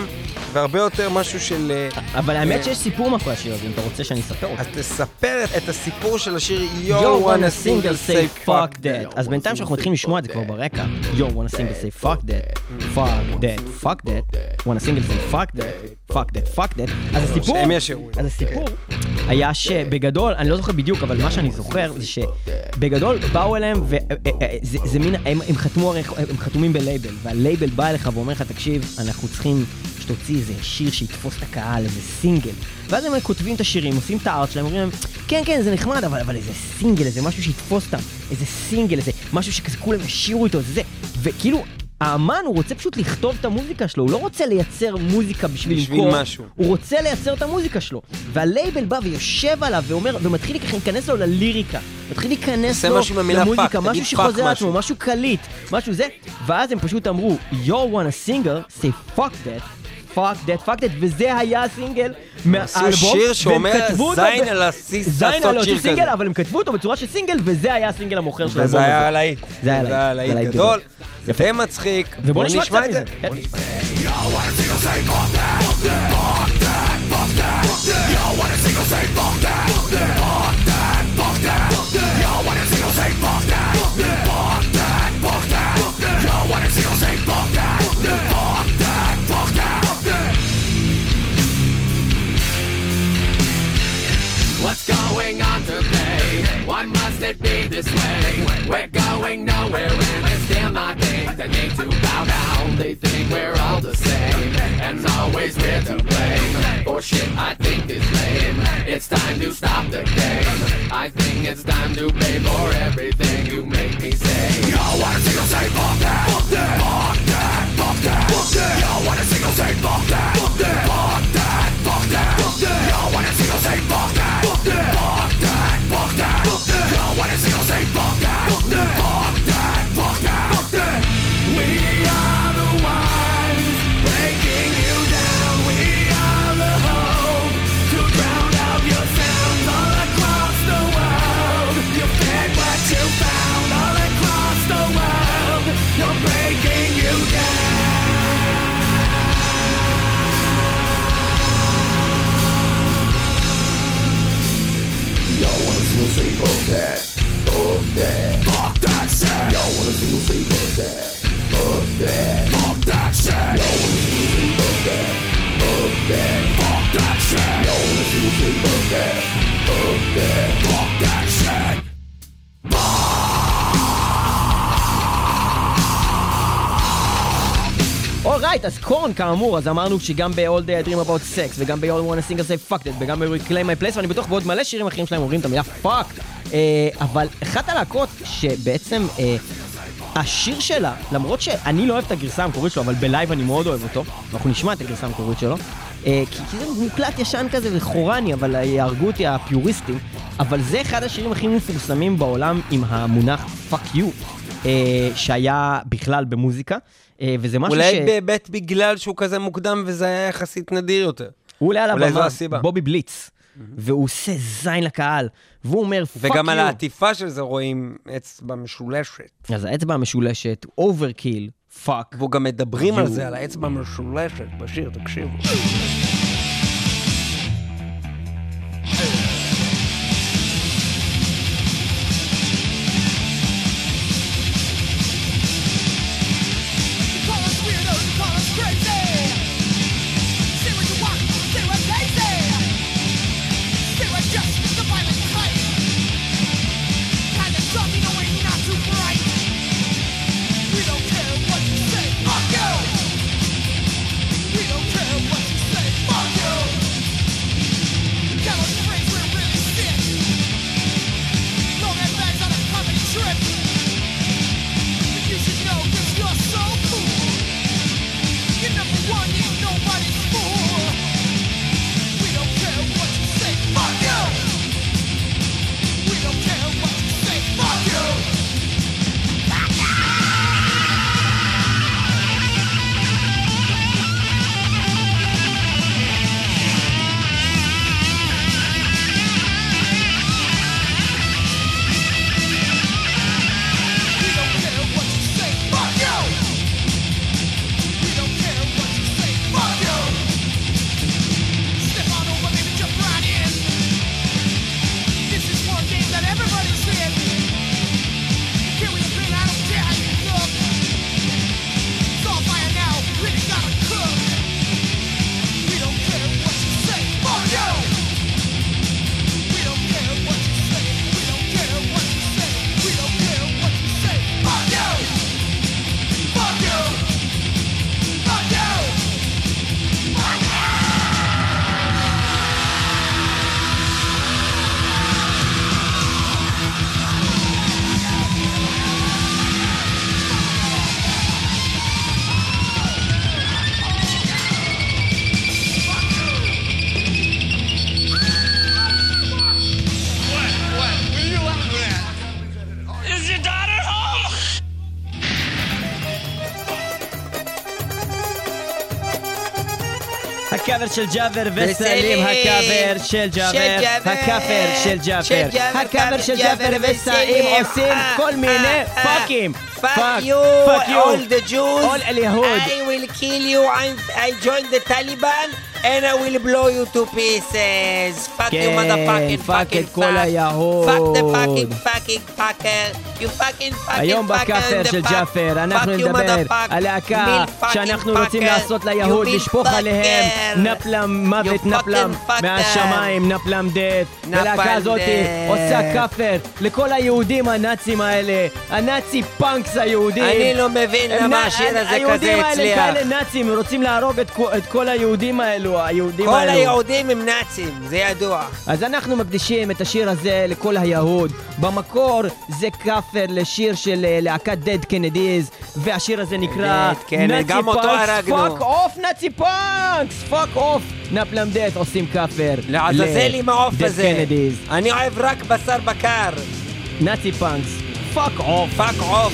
והרבה יותר משהו של... אבל האמת שיש סיפור מאחורי השיר הזה, אם אתה רוצה שאני אספר אותו. אז תספר את הסיפור של השיר You wanna single say fuck that. אז בינתיים שאנחנו מתחילים לשמוע את זה כבר ברקע. You wanna single say fuck that. Fuck that. Fuck that. wanna single say fuck that. Fuck that. Fuck that. אז הסיפור היה שבגדול, אני לא זוכר בדיוק, אבל מה שאני זוכר זה שבגדול באו אליהם וזה מין, הם חתומים בלייבל, והלייבל בא אליך ואומר לך, תקשיב, אנחנו צריכים שתוציא איזה שיר שיתפוס את הקהל, איזה סינגל. ואז הם כותבים את השירים, עושים את הארט שלהם, אומרים להם, כן, כן, זה נחמד, אבל איזה סינגל, איזה משהו שיתפוס אותם, איזה סינגל, איזה משהו שכזה כולם ישירו איתו, זה. וכאילו, האמן הוא רוצה פשוט לכתוב את המוזיקה שלו, הוא לא רוצה לייצר מוזיקה בשביל משהו. הוא רוצה לייצר את המוזיקה שלו. והלייבל בא ויושב עליו ואומר, ומתחיל להיכנס לו לליריקה, מתחיל להיכנס לו למוזיקה, משהו שחוזר לעצמו, משהו קליט, משהו זה. ואז הם פשוט אמרו, you want a single, say fuck that. fuck that, fuck that, וזה היה הסינגל מהאלבום. עשו שיר שאומר זין על הסיס לעשות שיר כזה. אבל הם כתבו אותו בצורה של סינגל, וזה היה הסינגל המוכר של האלבום. וזה היה הלהיט. זה היה הלהיט גדול. זה מצחיק. ובוא נשמע את זה. What's going on today? Why must it be this way? We're going nowhere and it's still not things that need to bow down. They think we're all the same and always we're to blame. For shit I think is lame. It's time to stop the game. I think it's time to pay for everything you make me say. Yo, wanna single say fuck that? Fuck that. Fuck that. Fuck that. Fuck that. Yo, wanna single say fuck that? Fuck that. Fuck that. Fuck that. Fuck that. Yo, wanna single say fuck that? Fuck that. Fuck that. Fuck that. Fuck that. Yo, wanna single say fuck that? Fuck that. Fuck that. Fuck that. Fuck that. We are the ones breaking you down. We are the hope to drown out your sounds all across the world. You fed what you found all across the world. You're breaking you down. Y'all wanna single say fuck that, fuck that, fuck that shit. Y'all wanna single say fuck that, fuck that, fuck that shit. Y'all wanna single say fuck that, fuck that, fuck that shit. Y'all wanna single say fuck that, fuck that, fuck that shit. אורייט, אז קורן כאמור, אז אמרנו שגם ב-All Day I Dream About Sex וגם ב-All Wanna Single Say Fuck That וגם ב-Reclaim My Place, ואני בטוח בעוד מלא שירים אחרים שלהם אומרים את המילה fuck. אבל אחת הלהקות שבעצם השיר שלה, למרות שאני לא אוהב את הגרסה המקורית שלו, אבל בלייב אני מאוד אוהב אותו, אנחנו נשמע את הגרסה המקורית שלו, כי זה מוקלט ישן כזה וחורני, אבל יהרגו אותי הפיוריסטים, אבל זה אחד השירים הכי מפורסמים בעולם עם המונח fuck you, שהיה בכלל במוזיקה. וזה משהו אולי באמת בגלל שהוא כזה מוקדם וזה היה יחסית נדיר יותר. הוא עולה על הבמה, בובי בליץ, והוא עושה זין לקהל, והוא אומר פאק יו. וגם על העטיפה של זה רואים אצבע משולשת. אז האצבע המשולשת, אוברקיל, פאק. והוא גם מדברים על זה, על האצבע המשולשת בשיר, תקשיבו. We don't care what you say. הקאבר של ג'אבר וסלים, הקאבר של ג'אבר, הקאבר של ג'אבר, הקאבר של ג'אבר וסלים עושים כל מיני פאקים. Fuck you, all the Jews. all اليهود. I will kill you. I joined the Taliban and I will blow you to pieces. Fuck you, motherfucking fucking fuck. כל היהוד. Fuck the fucking fucker. You fucking fucking היום בכאפר של ג'אפר אנחנו נדבר על להקה שאנחנו רוצים לעשות ליהוד, לשפוך עליהם נפלם מוות, נפלם מהשמיים, נפלם דט. ולהקה הזאת עושה כאפר לכל היהודים הנאצים האלה, הנאצי פאנקס היהודים. אני לא מבין למה השיר הזה כזה היהודים האלה הצליח. כאלה נאצים, הם רוצים להרוג את כל היהודים האלו, כל היהודים הם נאצים, זה ידוע. אז אנחנו מקדישים את השיר הזה לכל היהוד. במקור זה כאפר לשיר של להקת Dead Kennedys, והשיר הזה נקרא נאצי פאנקס. פאק אוף נאצי פאנקס, פאק אוף. נפלם דט עושים כאפר לעזאזל עם העוף הזה. Kennedys. אני אוהב רק בשר בקר. נאצי פאנקס, פאק אוף. פאק אוף.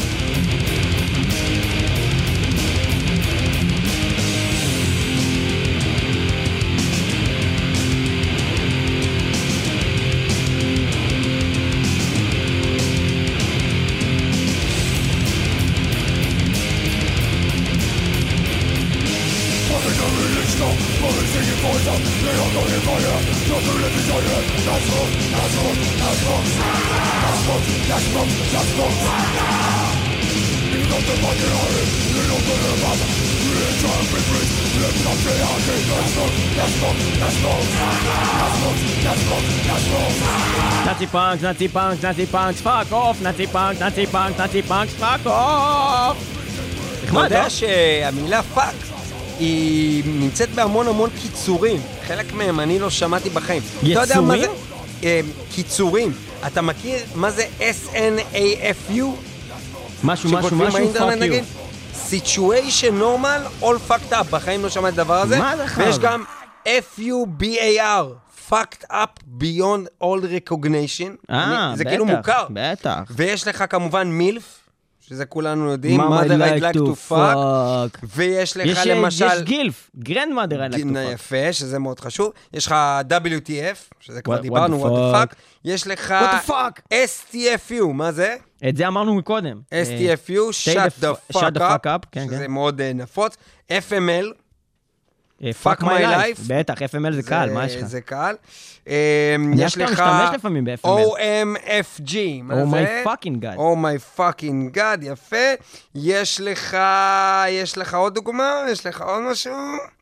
נאצי פאנקס, נאצי פאנקס, נאצי פאנקס, פאק אוף, נאצי פאנקס, נאצי פאנקס, נאצי פאנקס, פאק אוף. אתה יודע שהמילה פאק היא נמצאת בהמון קיצורים, חלק מהם אני לא שמעתי בחיים. יצורים? קיצורים. אתה מכיר מה זה SNAFU? משהו, פאק יו. Situation normal, all fucked up. בחיים לא שמעתי דבר הזה. מה זה חב? ויש גם FUBAR, fucked up beyond all recognition. זה כאילו מוכר. בטח. ויש לך כמובן מילף, שזה כולנו יודעים, mother I'd like to fuck. ויש לך למשל... יש גילף, grandmother I'd like to fuck. יפה, שזה מאוד חשוב. יש לך WTF, שזה כבר דיברנו, what the fuck. יש לך STFU, מה זה? את זה אמרנו מקודם. STFU, shut the fuck up, שזה מאוד נפוץ. FML, fuck my life. בטח, FML זה קל, מה יש לך? זה קל. יש לך OMFG, מה זה? Oh my fucking god. Oh my fucking god, יפה. יש לך עוד דוגמה? יש לך עוד משהו?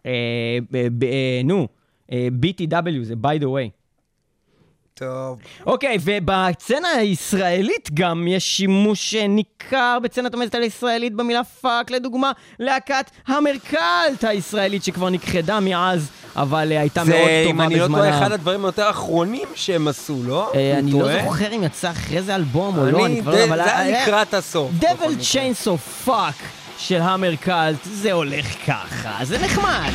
נו, BTW זה by the way. טוב. אוקיי, ובצנה הישראלית גם יש שימוש ניכר בצנת המטאל הישראלית במילה פאק, לדוגמה, להקת המרקלט הישראלית שכבר נכחדה מאז, אבל הייתה מאוד טובה בזמנה. אם אני לא טועה, אחד הדברים היותר אחרונים שהם עשו, לא? אני לא זוכר אם יצא אחרי זה אלבום או לא, זה היה לקראת הסוף. Devil Chainsaw Fuck של המרקלט, זה הולך ככה, זה נחמד.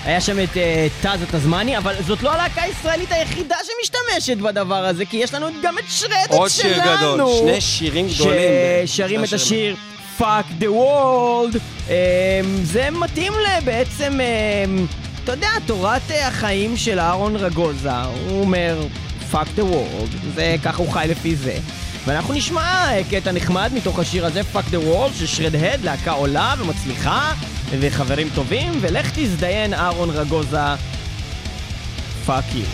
היה שם את טאז התזמני, אבל זאת לא הלהקה הישראלית היחידה שמשתמשת בדבר הזה, כי יש לנו גם את שרדד שלנו. עוד שיר גדול, שני שירים גדולים. ששרים את השיר Fuck the World. זה מתאים בעצם, אתה יודע, תורת החיים של אהרון רגוזה. הוא אומר Fuck the World, זה ככה הוא חי לפי זה. ואנחנו נשמע קטע נחמד מתוך השיר הזה, Fuck the World, ששרדהד, להקה עולה ומצליחה, וחברים טובים, ולך תזדיין אהרון רגוזה, Fuck you.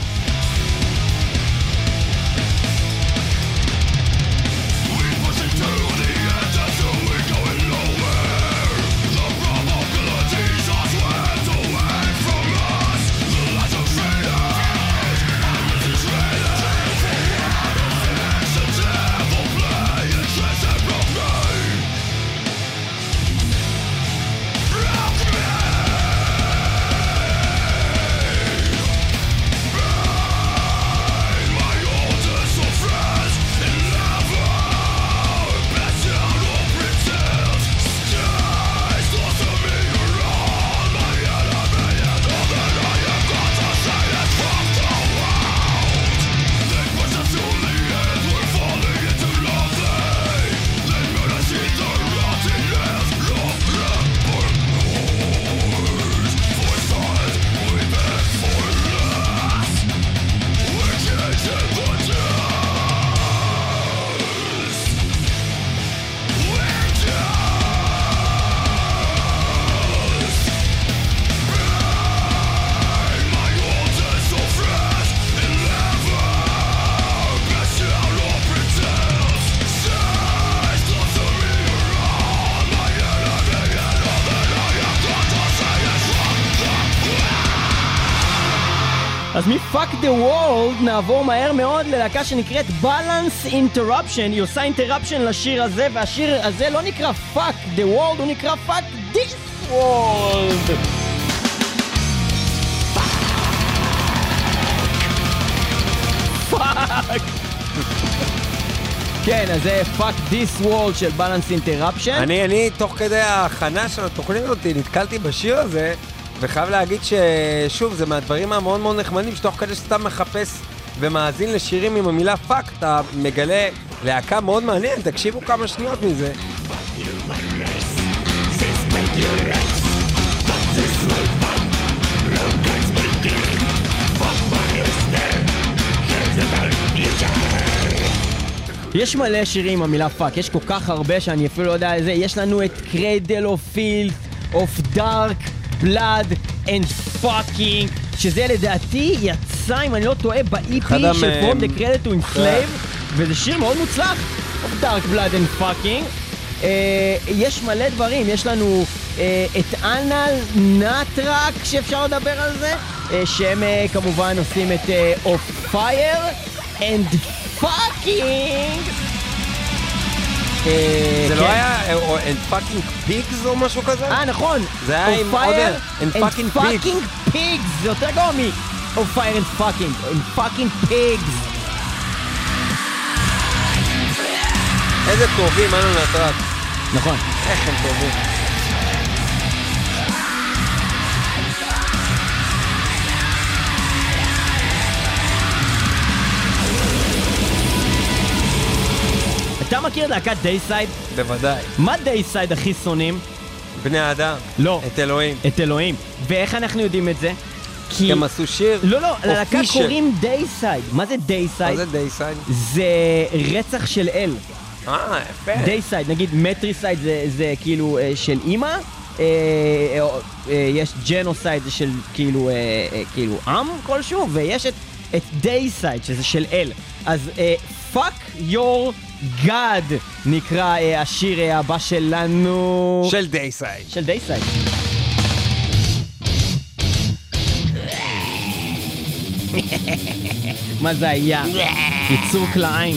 אז מ-Fuck the World נעבור מהר מאוד ללהקה שנקראת Balance Interruption. היא עושה Interruption לשיר הזה, והשיר הזה לא נקרא Fuck the World, הוא נקרא Fuck this World. Fuck. כן, אז זה Fuck this World של Balance Interruption. אני תוך כדי ההכנה של התוכנית אותי נתקלתי בשיר הזה, וחייב להגיד ששוב, זה מהדברים המאוד מאוד נחמדים, שתוך כדי שאתה מחפש ומאזין לשירים עם המילה פאק, אתה מגלה להקה מאוד מעניין, תקשיבו כמה שניות מזה. יש מלא שירים עם המילה פאק, יש כל כך הרבה שאני אפילו לא יודע איזה. יש לנו את Cradle of Filth, of Dark Blood and Fucking, שזה לדעתי יצא, אם אני לא טועה, ב-EP של From the Cradle to Enslave, וזה שיר מאוד מוצלח, of Dark Blood and Fucking. יש מלא דברים, יש לנו את אנל נטרק שאפשר לדבר על זה, שהם כמובן עושים את Of Fire and Fucking. זה לא היה And Fucking Pigs או משהו כזה? נכון. זה היה עם עוד And Fucking Pigs. זה יותר גרוע Of Fire and Fucking. And Fucking Pigs. איזה טובים, אנו נטרק. נכון. איך הם טובים. אתה מכיר להקת דייסייד? בוודאי. מה דייסייד הכי שונאים? בני האדם. לא. את אלוהים. את אלוהים. ואיך אנחנו יודעים את זה? כי... הם עשו שיר? לא, ללהקה קוראים דייסייד. מה זה דייסייד? מה זה דייסייד? זה רצח של אל. יפה. דייסייד, נגיד מטריסייד זה כאילו של אמא, יש ג'נוסייד זה של כאילו עם כלשהו, ויש את דייסייד שזה של אל. אז Fuck Your God נקרא השיר הבא שלנו. של דייסייד. של דייסייד. מה זה היה? יצור כליים.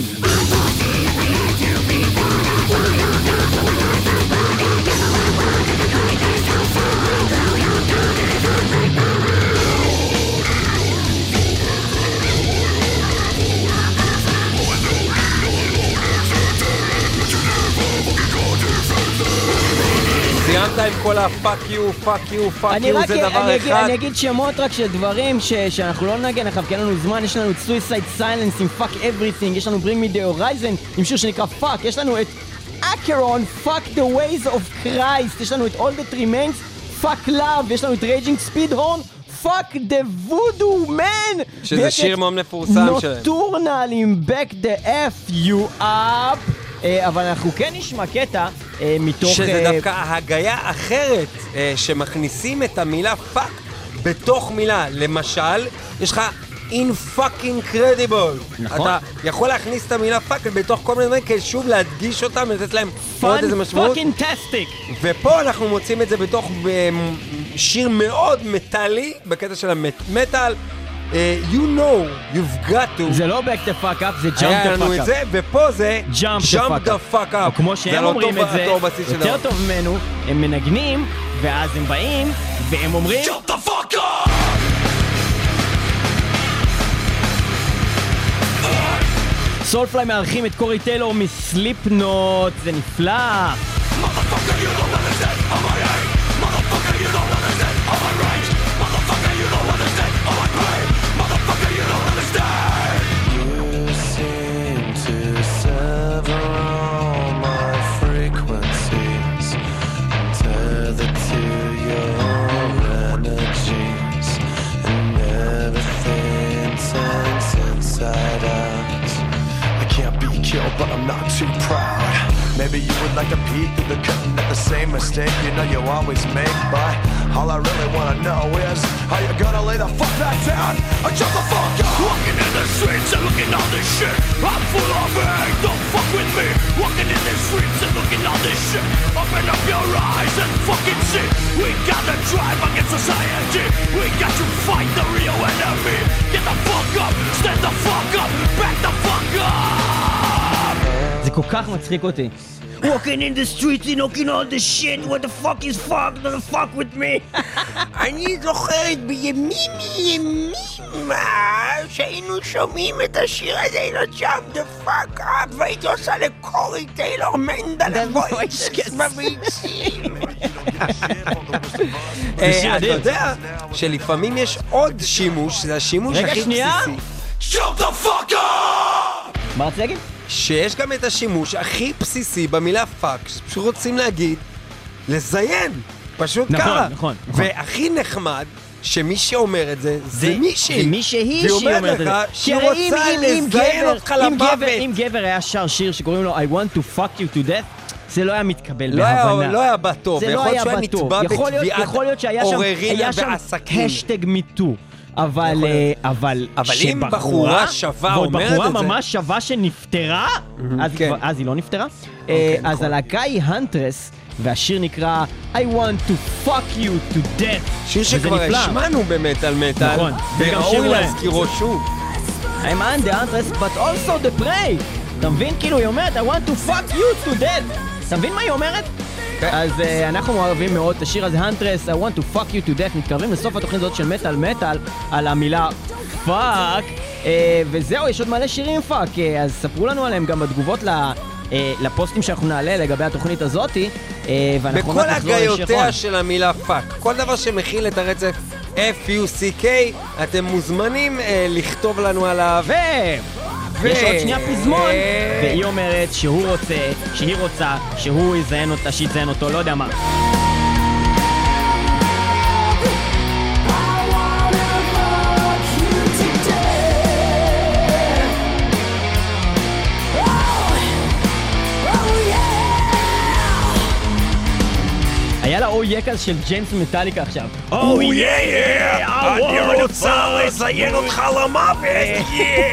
סיימת עם כל הפאק יו, פאק יו, פאק יו, זה דבר אחד. אני אגיד שמות רק של דברים שאנחנו לא נגן אחר, כי אין לנו זמן. יש לנו את Suicide Silence עם Fuck Everything, יש לנו Bring Me The Horizon עם שיר שנקרא Fuck, יש לנו את Acheron, Fuck The Ways of Christ, יש לנו את All That Remains, Fuck Love, יש לנו את Raging Speedhorn, Fuck The Voodoo Man, שזה שיר מאוד מפורסם שלהם. נוטורנל עם Back The F You Up. אבל אנחנו כן נשמע קטע מתוך... שזה דווקא הגיה אחרת, שמכניסים את המילה פאק בתוך מילה. למשל, יש לך in fucking credible. נכון. אתה יכול להכניס את המילה פאק בתוך כל מיני דברים, כדי שוב להדגיש אותם, לתת להם עוד איזה משמעות. fucking tastic. ופה אנחנו מוצאים את זה בתוך שיר מאוד מטלי, בקטע של המטל. You know, you've got to. זה לא back the fuck up, זה jump היה the לנו fuck את up. זה, ופה זה jump the fuck up. או כמו שהם אומרים את זה, יותר טוב ממנו, הם מנגנים, ואז הם באים, והם אומרים Jump the fuck up! סולפליי מארחים את קורי טיילור מסליפנוט, זה נפלא. Motherfucker, you don't understand how I hate. Motherfucker, you don't understand how I rage. Motherfucker, you don't understand how I pain. Motherfucker, you don't understand. You seem to sever all my frequencies, tethered to your energies, and everything turns inside out. I can't be killed, but I'm not too proud. Maybe you would like to peek through the curtain at the same mistake you know you always make, but all I really wanna know is how you gonna lay the fuck back down or jump the fuck up. Walking in the streets and looking all this shit. I'm full of hate, don't fuck with me. Walking in the streets and looking all this shit. Open up your eyes and fucking see. We got to drive against society. We got to fight the real enemy. Get the fuck up, stand the fuck up, back the fuck up. זה כל כך מצחיק אותי. Walking in the streets and looking all the shit. What the fuck is fuck? Don't fuck with me. אני זוכרת בימים שהיינו שומעים את השיר הזה, Jump the fuck up, והייתי עושה לקורי טיילור מנדל הוויצ'ס בביצים. אתה יודע שלפעמים יש עוד שימוש, זה השימוש הכי בסיסי. Jump the fuck up! מה רציתי להגיד? שיש גם את השימוש הכי בסיסי במילה פאק, שפשוט רוצים להגיד, לזיין, פשוט נכון, ככה. נכון. והכי נחמד, שמי שאומר את זה, זה מישהי. זה מישהי שהיא אומרת את זה. שהיא רוצה לזיין אותך למוות. אם גבר היה שר שיר שקוראים לו I want to fuck you to death, זה לא היה מתקבל בהבנה. לא היה בטוב, יכול להיות שהוא היה נתבע בתביעת עוררין ועסקים. השטג מיטו. אבל אם בחורה שווה אומרת את זה, בחורה ממש שווה שנפטרה, אז היא לא נפטרה. אז הלהקה היא הנטרס, והשיר נקרא I want to fuck you to death. שיר שכבר השמענו במטל מטל, נכון, וראוי להזכירו שוב. I'm on the Huntress, but also the prey. אתה מבין? כאילו היא אומרת I want to fuck you to death. אתה מבין מה היא אומרת? אז אנחנו מערבים מאוד את השיר הזה, Huntress, I want to fuck you to death. מתקרבים לסוף התוכנית הזאת של מטל מטל על המילה פאק, וזהו, יש עוד מלא שירים פאק, אז ספרו לנו עליהם גם בתגובות לפוסטים שאנחנו נעלה לגבי התוכנית הזאת, בכל הגיותיה של המילה פאק, כל דבר שמכיל את הרצף F-U-C-K, אתם מוזמנים לכתוב לנו עליו. יש עוד שנייה פזמון, והיא אומרת שהוא רוצה, שהיא רוצה, שהוא יזיין אותה, שיזיין אותו, לא יודע מה. היה לה אוי יקז של ג'יימס מטאליקה עכשיו. אוי אני רוצה לזיין אותך למוות.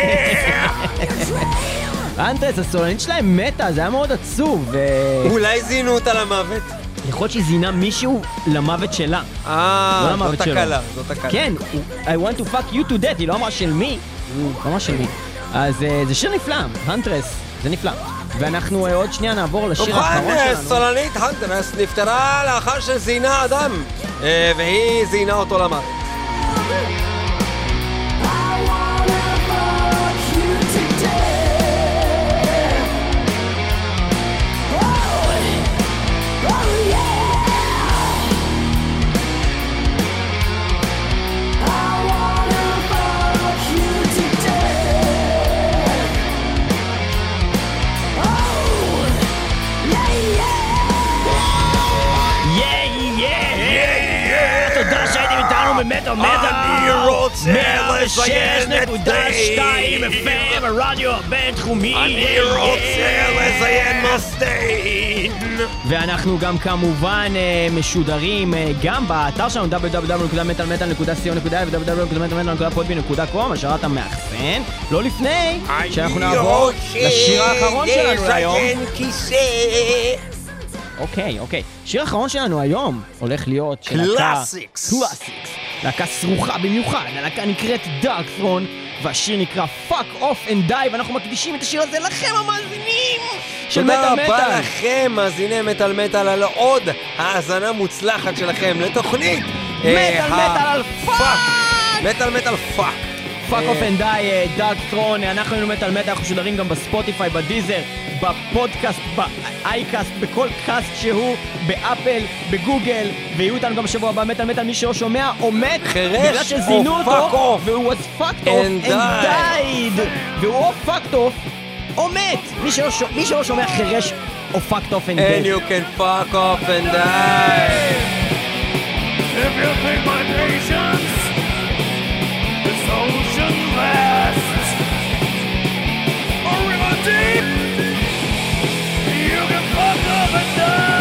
אנטרס, הסולנית שלהם מתה, זה היה מאוד עצוב. אולי זינו אותה למוות. יכול להיות שהיא זינה מישהו למוות שלה. זאת הקלה, זאת הקלה. כן, I want to fuck you to death, היא לא אמרה של מי. לא אמרה של מי. אז זה שיר נפלא, הנטרס, זה נפלא. ואנחנו עוד שנייה נעבור לשיר האחרון שלנו. סולנית הנטרס נפטרה לאחר שזינה אדם, והיא זינה אותו למוות. תודה שהייתם איתנו במטל מטל. אני רוצה לציין את 106.2 FM, הרדיו הבינתחומי. אני רוצה לציין מסטיין. ואנחנו גם כמובן משודרים גם באתר שלנו www.metalmetal.co.il ו-www.metalmetal.podbean.com, השארת המאחסן. לא לפני שאנחנו נעבור לשיר האחרון שלנו היום. אוקיי. שיר האחרון שלנו היום הולך להיות של קלאסיקס. להקה סרוכה במיוחד, הלהקה נקראת דארק ת'רון, והשיר נקרא Fuck Off and Die, ואנחנו מקדישים את השיר הזה לכם המאזינים של מטל מטל. תודה רבה לכם, מאזיני מטל מטל, על עוד האזנה מוצלחת שלכם לתוכנית מטל מטל על פאק! מטל מטל פאק. Fuck Off and Die, דארק ת'רון, אנחנו היינו מטל מטל, אנחנו משודרים גם בספוטיפיי, בדיזר, בפודקאסט, באייקאסט, בכל קאסט שהוא, באפל, בגוגל, ויהיו איתנו גם בשבוע הבא מטל מטל, מי שלא שומע או מת, בגלל שזינו אותו, והוא was fucked off and died, והוא או fucked off או מת, מי שלא שומע חירש או fucked off and dead. And you can fuck off and die. If you think my patience, this ocean vast, a river deep, you can fuck off and die.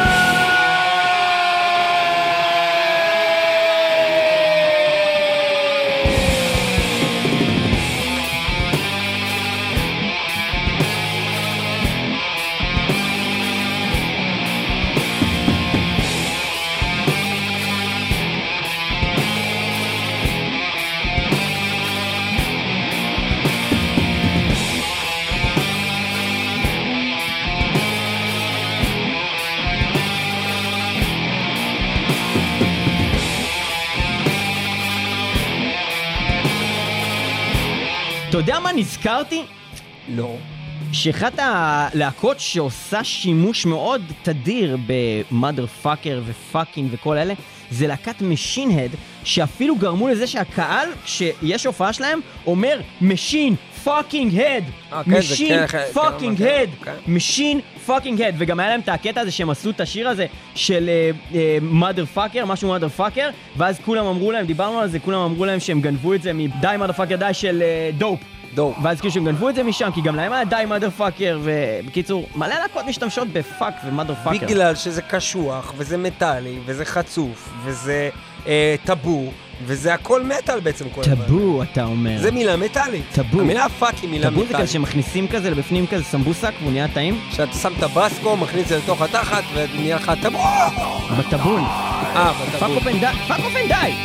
אתה יודע מה נזכרתי? לא. שאחת הלהקות שעושה שימוש מאוד תדיר במאדר פאקר ופאקינג וכל אלה, זה להקת משין-הד, שאפילו גרמו לזה שהקהל, כשיש הופעה שלהם, אומר משין פאקינג הד, משין פאקינג הד, משין פאקינג הד, וגם היה להם את הקטע הזה שהם עשו את השיר הזה של מאדר פאקר, משהו מאדר פאקר, ואז כולם אמרו להם, דיברנו על זה, כולם אמרו להם שהם גנבו את זה מדי מאדר פאקר די של דופ. ואז כאילו שהם גנבו את זה משם, כי גם להם היה די מאדר פאקר, ובקיצור, מלא להקות משתמשות בפאק ומאדר פאקר. בגלל שזה קשוח, וזה מטאלי, וזה חצוף, וזה טאבו, וזה הכל מטאל בעצם כל הזמן. טאבו, אתה אומר. זה מילה מטאלית. טאבו. המילה פאק היא מילה טאבו מטאלית. זה כזה שמכניסים כזה לבפנים כזה סמבוסק והוא נהיה טעים? שאתה שם טבסקו, מכניס את זה לתוך התחת, ונהיה לך טאבו. בטאבון. בטאבון. פאק אוף אנד די. פאק אוף אנד די.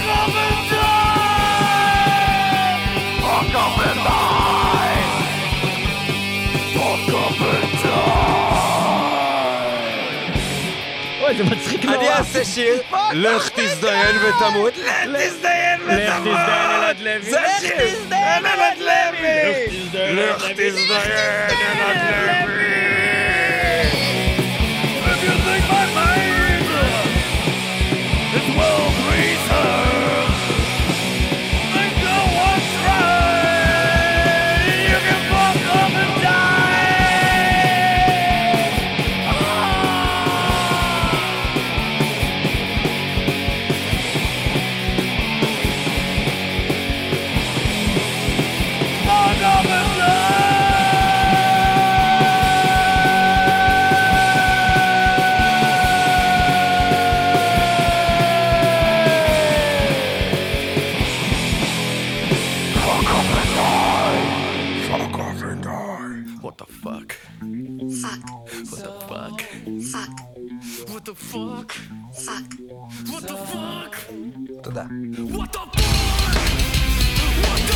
Fuck off and die! Fuck off and die! אוי, זה מצחיק נורא. אני אעשה שיר, לך תזדיין ותמות, לך תזדיין ותמות! זה השיר! אלעד לוי! לך תזדיין, אלעד לוי! If you think my mind is well preserved, then go on try. You can fuck off and die. Fuck off and die. What the fuck? Fuck. What the fuck? Fuck. What the fuck? Fuck. What the fuck? תודה. What the fuck? What the